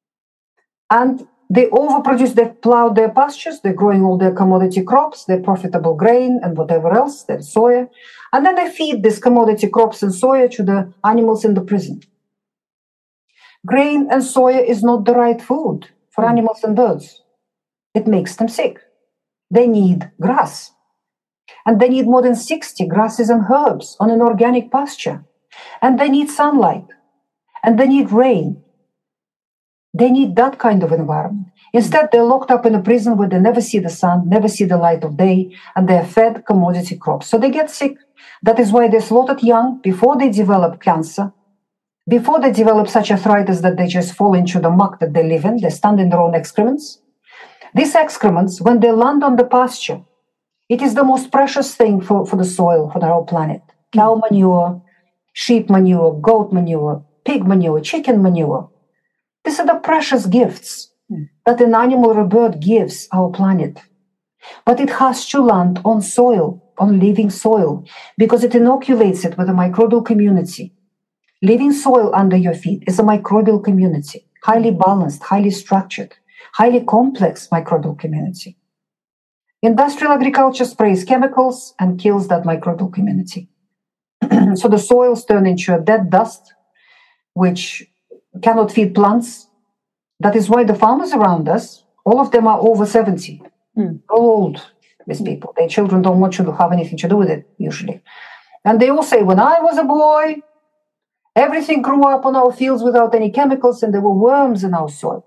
And they overproduce, they plow their pastures, they're growing all their commodity crops, their profitable grain and whatever else, their soya. And then they feed these commodity crops and soya to the animals in the prison. Grain and soya is not the right food for animals and birds. It makes them sick. They need grass. And they need more than 60 grasses and herbs on an organic pasture. And they need sunlight. And they need rain. They need that kind of environment. Instead, they're locked up in a prison where they never see the sun, never see the light of day, and they're fed commodity crops. So they get sick. That is why they're slaughtered young before they develop cancer, before they develop such arthritis that they just fall into the muck that they live in. They stand in their own excrements. These excrements, when they land on the pasture, it is the most precious thing for the soil, for the whole planet. Cow manure, sheep manure, goat manure, pig manure, chicken manure. These are the precious gifts that an animal or a bird gives our planet. But it has to land on soil, on living soil, because it inoculates it with a microbial community. Living soil under your feet is a microbial community, highly balanced, highly structured, highly complex microbial community. Industrial agriculture sprays chemicals and kills that microbial community. So the soils turn into a dead dust, which cannot feed plants. That is why the farmers around us, all of them are over 70, all old, these people. Their children don't want you to have anything to do with it, usually. And they all say, when I was a boy, everything grew up on our fields without any chemicals and there were worms in our soil.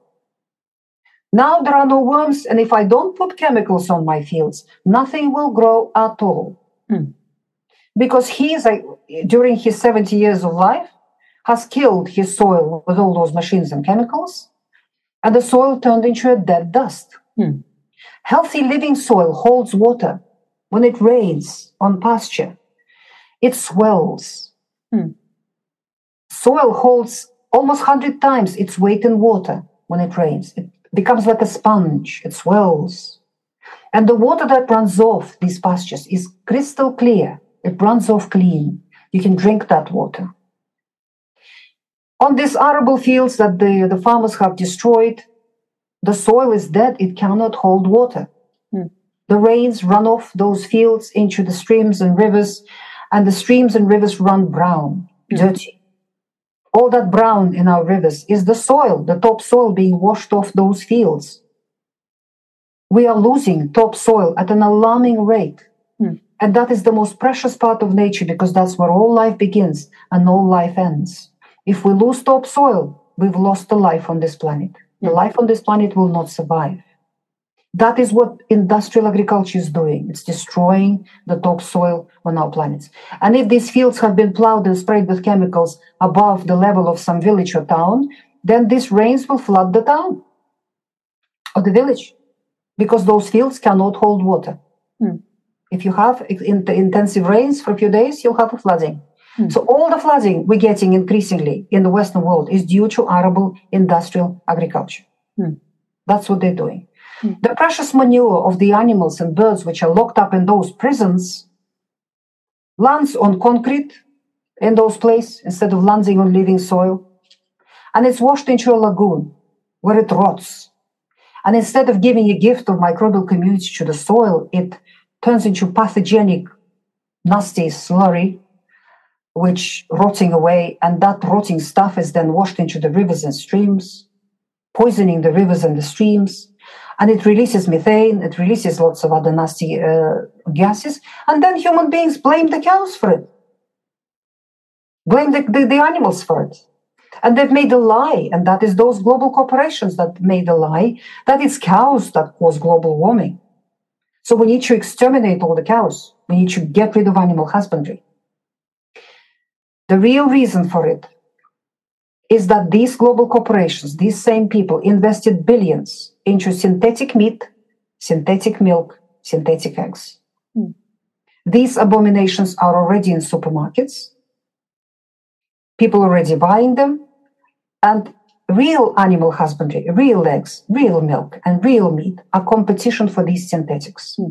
Now there are no worms, and if I don't put chemicals on my fields, nothing will grow at all. Because during his 70 years of life, has killed his soil with all those machines and chemicals, and the soil turned into a dead dust. Healthy living soil holds water. when it rains on pasture, it swells. Soil holds almost 100 times its weight in water when it rains. It becomes like a sponge. It swells. And the water that runs off these pastures is crystal clear. It runs off clean. You can drink that water. On these arable fields that the farmers have destroyed, the soil is dead. It cannot hold water. The rains run off those fields into the streams and rivers, and the streams and rivers run brown, dirty. All that brown in our rivers is the soil, the topsoil being washed off those fields. We are losing topsoil at an alarming rate. And that is the most precious part of nature, because that's where all life begins and all life ends. If we lose topsoil, we've lost the life on this planet. The life on this planet will not survive. That is what industrial agriculture is doing. It's destroying the topsoil on our planet. And if these fields have been plowed and sprayed with chemicals above the level of some village or town, then these rains will flood the town or the village, because those fields cannot hold water. If you have intensive rains for a few days, you'll have a flooding. So all the flooding we're getting increasingly in the Western world is due to arable industrial agriculture. That's what they're doing. The precious manure of the animals and birds which are locked up in those prisons lands on concrete in those places instead of landing on living soil. And it's washed into a lagoon where it rots. And instead of giving a gift of microbial community to the soil, it turns into pathogenic, nasty slurry, which rotting away. And that rotting stuff is then washed into the rivers and streams, poisoning the rivers and the streams. And it releases methane, it releases lots of other nasty gases. And then human beings blame the cows for it. Blame the animals for it. And they've made a lie, and that is those global corporations that made a lie, that it's cows that cause global warming. So we need to exterminate all the cows. We need to get rid of animal husbandry. The real reason for it is that these global corporations, these same people, invested billions into synthetic meat, synthetic milk, synthetic eggs. These abominations are already in supermarkets. People are already buying them. And real animal husbandry, real eggs, real milk, and real meat are competition for these synthetics.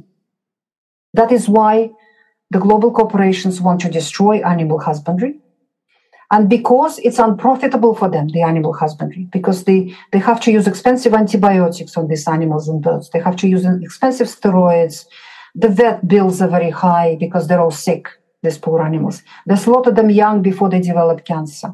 That is why the global corporations want to destroy animal husbandry. And because it's unprofitable for them, the animal husbandry, because they have to use expensive antibiotics on these animals and birds. They have to use expensive steroids. The vet bills are very high because they're all sick, these poor animals. They slaughter them young before they develop cancer.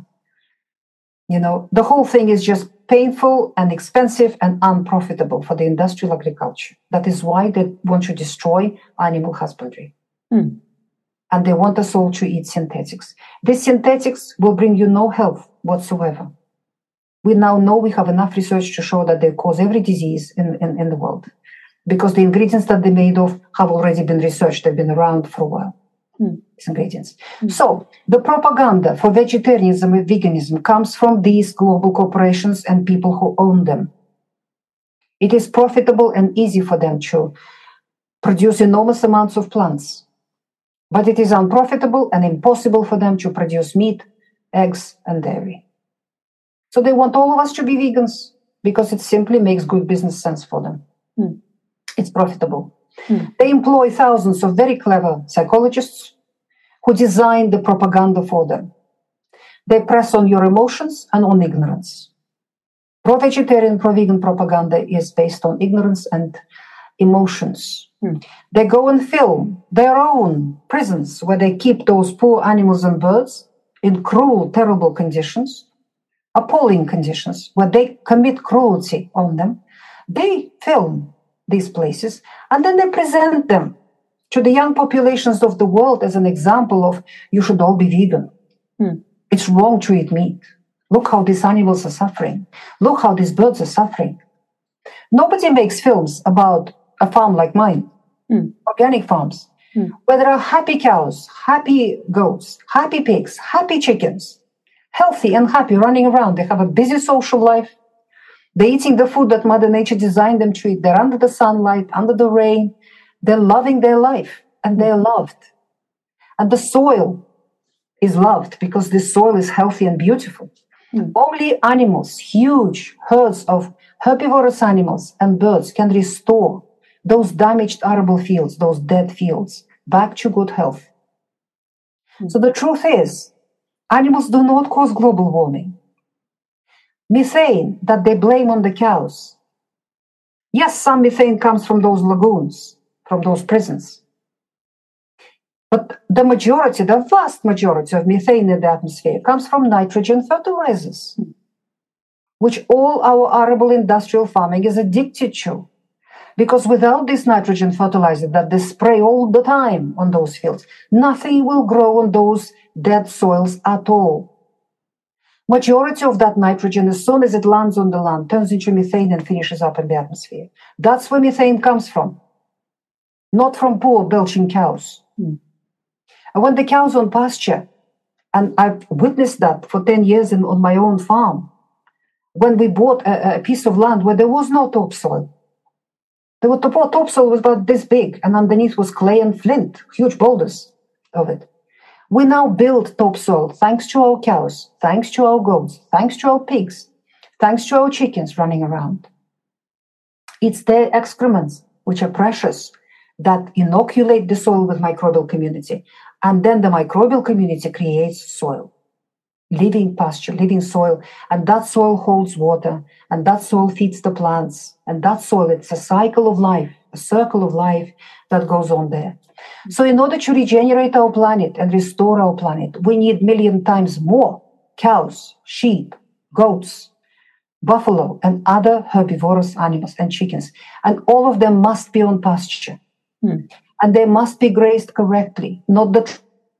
You know, the whole thing is just painful and expensive and unprofitable for the industrial agriculture. That is why they want to destroy animal husbandry. And they want us all to eat synthetics. These synthetics will bring you no health whatsoever. We now know, we have enough research to show that they cause every disease in the world, because the ingredients that they're made of have already been researched. They've been around for a while, these ingredients. So the propaganda for vegetarianism and veganism comes from these global corporations and people who own them. It is profitable and easy for them to produce enormous amounts of plants. But it is unprofitable and impossible for them to produce meat, eggs, and dairy. So they want all of us to be vegans because it simply makes good business sense for them. It's profitable. They employ thousands of very clever psychologists who design the propaganda for them. They press on your emotions and on ignorance. Pro-vegetarian, pro-vegan propaganda is based on ignorance and emotions. They go and film their own prisons where they keep those poor animals and birds in cruel, terrible conditions, appalling conditions, where they commit cruelty on them. They film these places and then they present them to the young populations of the world as an example of, you should all be vegan. It's wrong to eat meat. Look how these animals are suffering. Look how these birds are suffering. Nobody makes films about a farm like mine. Organic farms, where there are happy cows, happy goats, happy pigs, happy chickens, healthy and happy, running around. They have a busy social life. They're eating the food that Mother Nature designed them to eat. They're under the sunlight, under the rain. They're loving their life. and they're loved. And the soil is loved because the soil is healthy and beautiful. Only animals, huge herds of herbivorous animals and birds can restore those damaged arable fields, those dead fields, back to good health. So the truth is, animals do not cause global warming. Methane that they blame on the cows. Yes, some methane comes from those lagoons, from those prisons. But the majority, the vast majority of methane in the atmosphere comes from nitrogen fertilizers, which all our arable industrial farming is addicted to. Because without this nitrogen fertilizer that they spray all the time on those fields, nothing will grow on those dead soils at all. Majority of that nitrogen, as soon as it lands on the land, turns into methane and finishes up in the atmosphere. That's where methane comes from, not from poor belching cows. And when the cows on pasture, and I've witnessed that for 10 years on my own farm, when we bought a piece of land where there was no topsoil, the topsoil was about this big, and underneath was clay and flint, huge boulders of it. We now build topsoil thanks to our cows, thanks to our goats, thanks to our pigs, thanks to our chickens running around. It's their excrements, which are precious, that inoculate the soil with microbial community. And then the microbial community creates soil, living pasture, living soil. And that soil holds water, and that soil feeds the plants. And that soil, it's a cycle of life, a circle of life that goes on there. So in order to regenerate our planet and restore our planet, we need 1,000,000 times more cows, sheep, goats, buffalo, and other herbivorous animals and chickens. And all of them must be on pasture. And they must be grazed correctly. Not that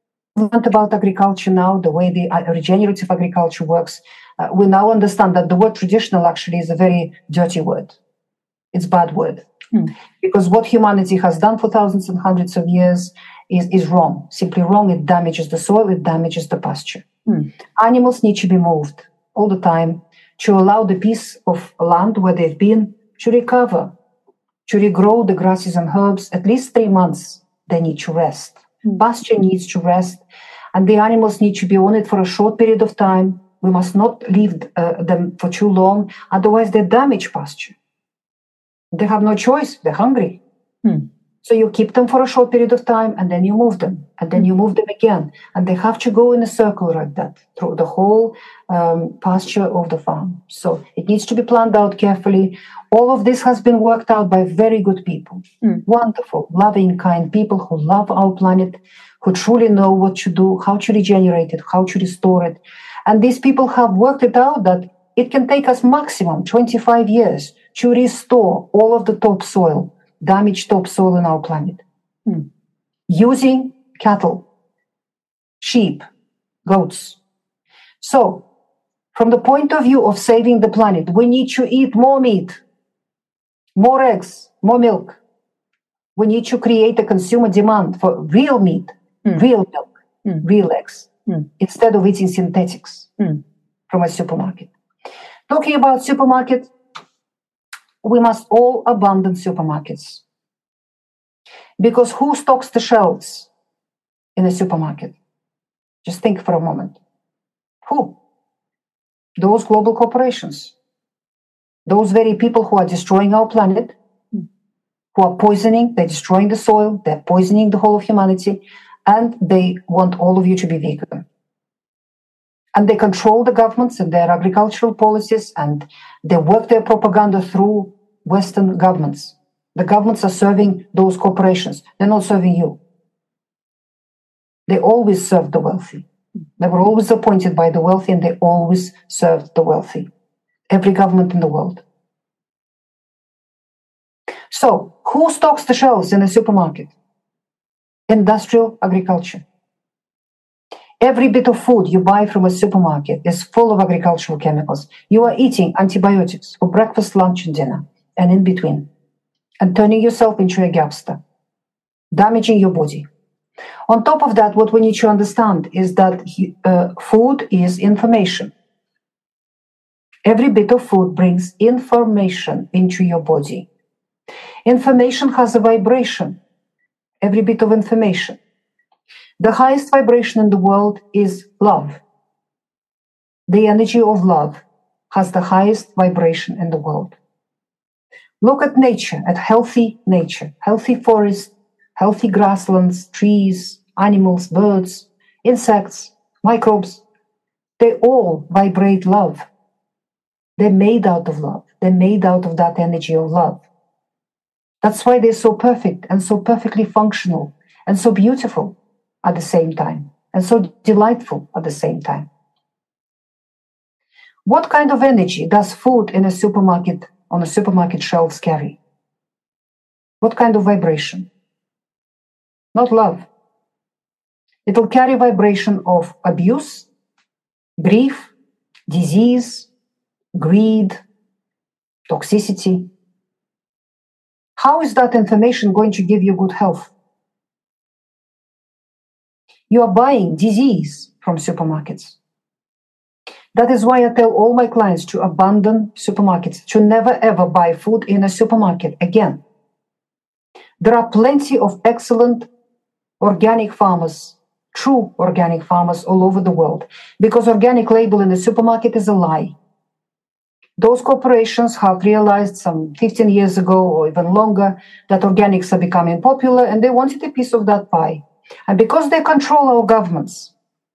about agriculture now, the way the regenerative agriculture works. We now understand that the word traditional actually is a very dirty word. It's a bad word. Because what humanity has done for thousands and hundreds of years is wrong, simply wrong. It damages the soil, it damages the pasture. Animals need to be moved all the time to allow the piece of land where they've been to recover, to regrow the grasses and herbs. At least 3 months, they need to rest. Pasture needs to rest, and the animals need to be on it for a short period of time. We must not leave them for too long, otherwise they damage pasture. They have no choice. They're hungry. So you keep them for a short period of time, and then you move them, and then you move them again. And they have to go in a circle like that through the whole pasture of the farm. So it needs to be planned out carefully. All of this has been worked out by very good people. Wonderful, loving, kind people who love our planet, who truly know what to do, how to regenerate it, how to restore it. And these people have worked it out that it can take us maximum 25 years to restore all of the topsoil, damaged topsoil on our planet, using cattle, sheep, goats. So, from the point of view of saving the planet, we need to eat more meat, more eggs, more milk. We need to create a consumer demand for real meat, real milk, real eggs, instead of eating synthetics from a supermarket. Talking about supermarket, we must all abandon supermarkets. Because who stocks the shelves in a supermarket? Just think for a moment. Who? Those global corporations. Those very people who are destroying our planet, who are poisoning, they're destroying the soil, they're poisoning the whole of humanity, and they want all of you to be vegan. And they control the governments and their agricultural policies, and they work their propaganda through Western governments. The governments are serving those corporations. They're not serving you. They always served the wealthy. They were always appointed by the wealthy, and they always served the wealthy. Every government in the world. So, who stocks the shelves in a supermarket? Industrial agriculture. Every bit of food you buy from a supermarket is full of agricultural chemicals. You are eating antibiotics for breakfast, lunch, and dinner, and in between, and turning yourself into a gapster, damaging your body. On top of that, what we need to understand is that food is information. Every bit of food brings information into your body. Information has a vibration. every bit of information. The highest vibration in the world is love. The energy of love has the highest vibration in the world. Look at nature, at healthy nature, healthy forests, healthy grasslands, trees, animals, birds, insects, microbes. They all vibrate love. They're made out of love. They're made out of that energy of love. That's why they're so perfect and so perfectly functional and so beautiful at the same time and so delightful at the same time. What kind of energy does food in a supermarket, on a supermarket shelves carry? What kind of vibration? Not love. It will carry vibration of abuse, grief, disease, greed, toxicity. How is that information going to give you good health? You are buying disease from supermarkets. That is why I tell all my clients to abandon supermarkets, to never ever buy food in a supermarket again. There are plenty of excellent organic farmers, true organic farmers all over the world, because organic label in the supermarket is a lie. Those corporations have realized some 15 years ago or even longer that organics are becoming popular and they wanted a piece of that pie. And because they control our governments,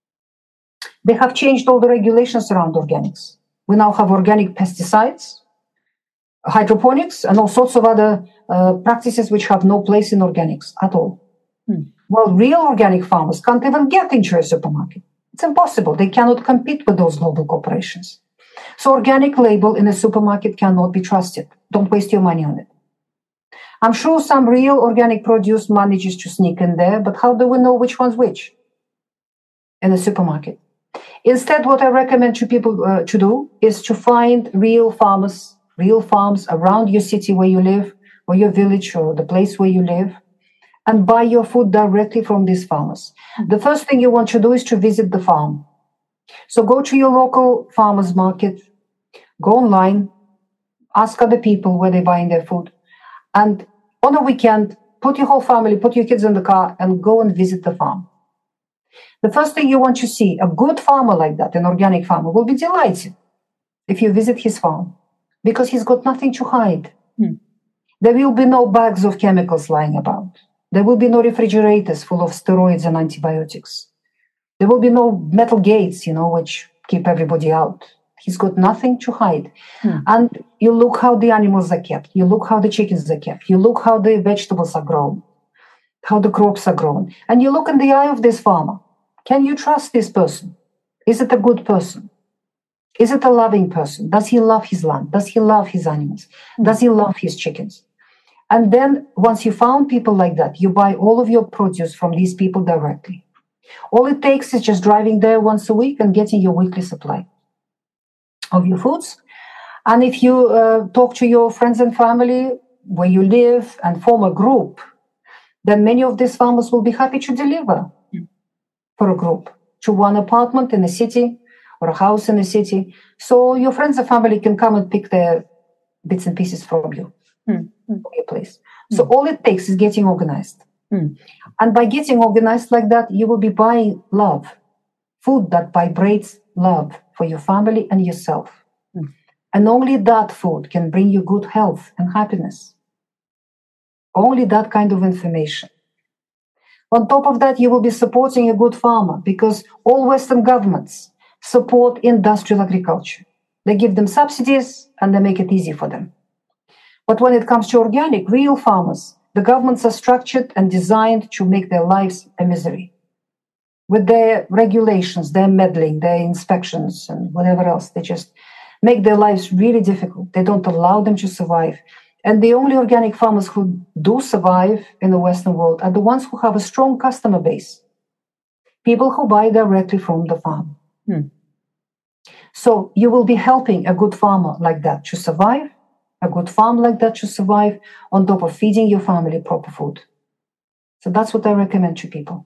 they have changed all the regulations around organics. We now have organic pesticides, hydroponics, and all sorts of other practices which have no place in organics at all. Well, real organic farmers can't even get into a supermarket. It's impossible. They cannot compete with those global corporations. So organic label in a supermarket cannot be trusted. Don't waste your money on it. I'm sure some real organic produce manages to sneak in there, but how do we know which one's which in a supermarket? Instead, what I recommend to people to do is to find real farmers, real farms around your city where you live, or your village, or the place where you live, and buy your food directly from these farmers. The first thing you want to do is to visit the farm. So go to your local farmers market, go online, ask other people where they're buying their food, and on a weekend, put your whole family, put your kids in the car, and go and visit the farm. The first thing you want to see, a good farmer like that, an organic farmer, will be delighted if you visit his farm, because he's got nothing to hide. There will be no bags of chemicals lying about. There will be no refrigerators full of steroids and antibiotics. There will be no metal gates, which keep everybody out. He's got nothing to hide. And you look how the animals are kept. You look how the chickens are kept. You look how the vegetables are grown, how the crops are grown. And you look in the eye of this farmer. Can you trust this person? Is it a good person? Is it a loving person? Does he love his land? Does he love his animals? Does he love his chickens? And then once you found people like that, you buy all of your produce from these people directly. All it takes is just driving there once a week and getting your weekly supply of your foods. And if you talk to your friends and family where you live and form a group, then many of these farmers will be happy to deliver for a group to one apartment in a city or a house in a city. So your friends and family can come and pick their bits and pieces from you, from your place. So all it takes is getting organized. And by getting organized like that, you will be buying love, food that vibrates love for your family and yourself. And only that food can bring you good health and happiness. Only that kind of information. On top of that, you will be supporting a good farmer, because all Western governments support industrial agriculture. They give them subsidies and they make it easy for them. But when it comes to organic, real farmers, the governments are structured and designed to make their lives a misery. With their regulations, their meddling, their inspections, and whatever else, they just make their lives really difficult. They don't allow them to survive. And the only organic farmers who do survive in the Western world are the ones who have a strong customer base. People who buy directly from the farm. So you will be helping a good farmer like that to survive, a good farm like that to survive, on top of feeding your family proper food. So that's what I recommend to people.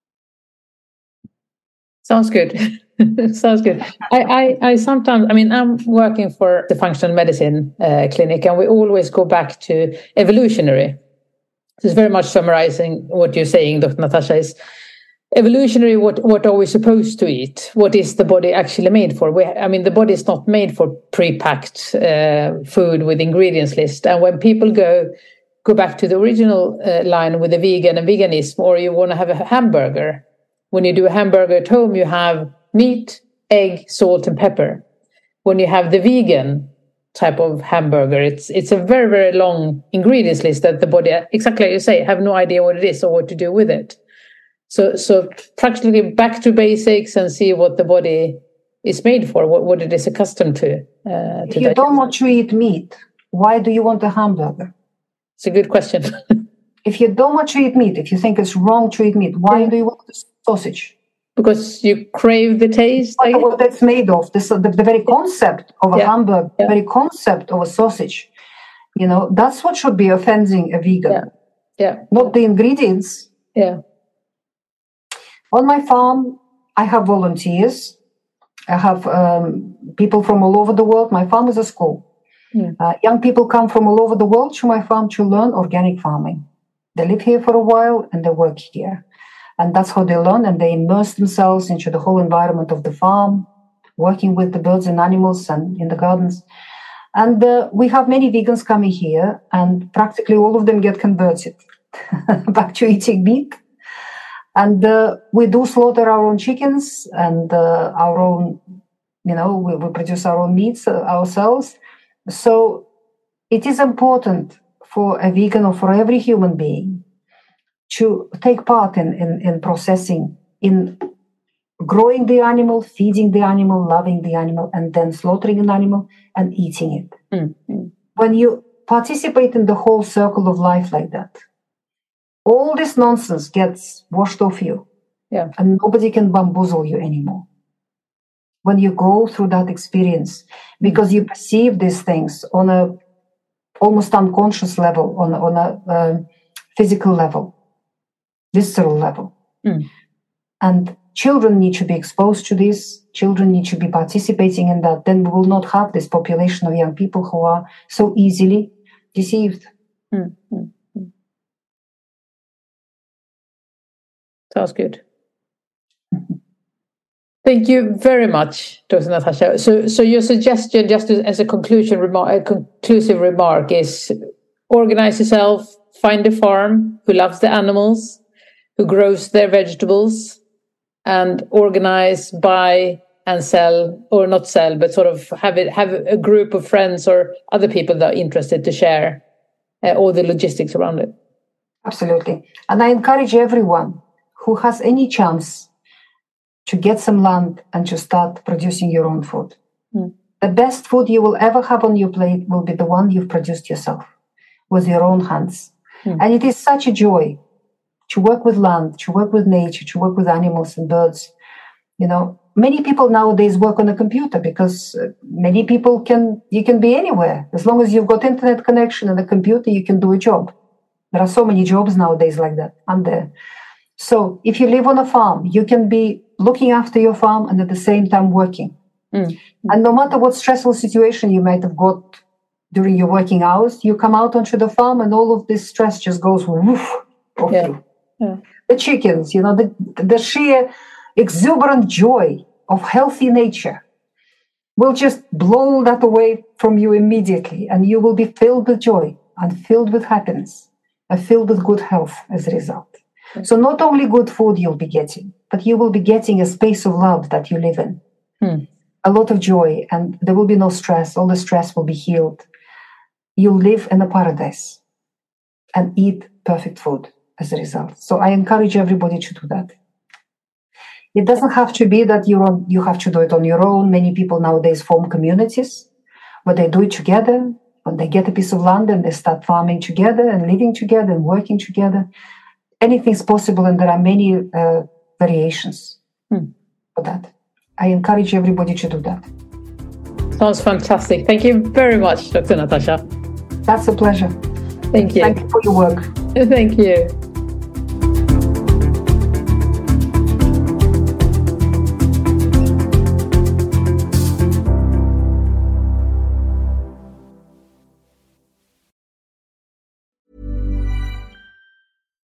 Sounds good. Sounds good. I sometimes, I'm working for the functional medicine clinic, and we always go back to evolutionary. it's very much summarizing what you're saying, Dr. Natasha, is evolutionary. What are we supposed to eat? What is the body actually made for? The body is not made for pre-packed food with ingredients list. And when people go back to the original line with the vegan and veganism, or you want to have a hamburger, when you do a hamburger at home, you have meat, egg, salt, and pepper. When you have the vegan type of hamburger, it's a very, very long ingredients list that the body, exactly like you say, have no idea what it is or what to do with it. So practically back to basics and see what the body is made for, what it is accustomed to. If you don't want to eat meat, why do you want a hamburger? It's a good question. If you don't want to eat meat, if you think it's wrong to eat meat, why do you want the sausage? Because you crave the taste. What that's made of. The very concept of a hamburger, the very concept of a sausage, that's what should be offending a vegan. Yeah. Not the ingredients. Yeah. On my farm, I have volunteers. I have people from all over the world. My farm is a school. Young people come from all over the world to my farm to learn organic farming. They live here for a while and they work here. And that's how they learn, and they immerse themselves into the whole environment of the farm, working with the birds and animals and in the gardens. And we have many vegans coming here, and practically all of them get converted back to eating meat. And we do slaughter our own chickens and our own, we produce our own meats ourselves. So it is important for a vegan or for every human being to take part in processing, in growing the animal, feeding the animal, loving the animal, and then slaughtering an animal and eating it. Mm-hmm. When you participate in the whole circle of life like that, all this nonsense gets washed off you, and nobody can bamboozle you anymore. When you go through that experience, because you perceive these things on a almost unconscious level, on a physical level, visceral level. And children need to be exposed to this. Children need to be participating in that. Then we will not have this population of young people who are so easily deceived. Sounds good. Thank you very much, Dr. Natasha. So your suggestion, just as a conclusive remark, is organize yourself, find a farm who loves the animals, who grows their vegetables, and organize, buy, and sell, or not sell, but sort of have a group of friends or other people that are interested to share all the logistics around it. Absolutely. And I encourage everyone who has any chance to get some land and to start producing your own food. The best food you will ever have on your plate will be the one you've produced yourself with your own hands. And it is such a joy to work with land, to work with nature, to work with animals and birds. Many people nowadays work on a computer because many people you can be anywhere. As long as you've got internet connection and a computer, you can do a job. There are so many jobs nowadays like that, aren't there? So if you live on a farm, you can be looking after your farm and at the same time working. And no matter what stressful situation you might have got during your working hours, you come out onto the farm and all of this stress just goes woof off you. The chickens, the sheer exuberant joy of healthy nature will just blow that away from you immediately, and you will be filled with joy and filled with happiness and filled with good health as a result. So not only good food you'll be getting, but you will be getting a space of love that you live in. A lot of joy, and there will be no stress. All the stress will be healed. You'll live in a paradise and eat perfect food as a result. So I encourage everybody to do that. It doesn't have to be that you have to do it on your own. Many people nowadays form communities where they do it together. When they get a piece of land and they start farming together and living together and working together. Anything's possible, and there are many variations for that. I encourage everybody to do that. Sounds fantastic. Thank you very much, Dr. Natasha. That's a pleasure. Thank you. Thank you for your work. Thank you.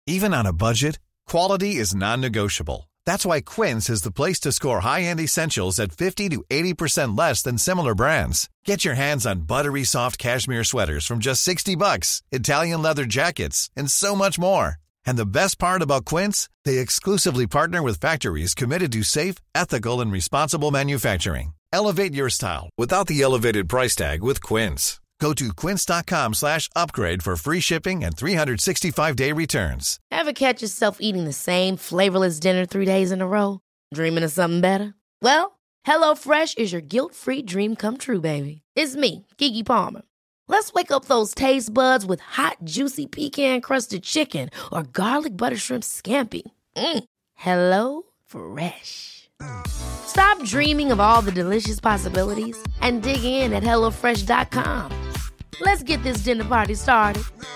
Even on a budget, quality is non-negotiable. That's why Quince is the place to score high-end essentials at 50 to 80% less than similar brands. Get your hands on buttery soft cashmere sweaters from just $60, Italian leather jackets, and so much more. And the best part about Quince, they exclusively partner with factories committed to safe, ethical, and responsible manufacturing. Elevate your style without the elevated price tag with Quince. Go to quince.com/upgrade for free shipping and 365-day returns. Ever catch yourself eating the same flavorless dinner 3 days in a row? Dreaming of something better? Well, HelloFresh is your guilt-free dream come true, baby. It's me, Keke Palmer. Let's wake up those taste buds with hot, juicy pecan-crusted chicken or garlic butter shrimp scampi. Hello Fresh. Stop dreaming of all the delicious possibilities and dig in at HelloFresh.com. Let's get this dinner party started.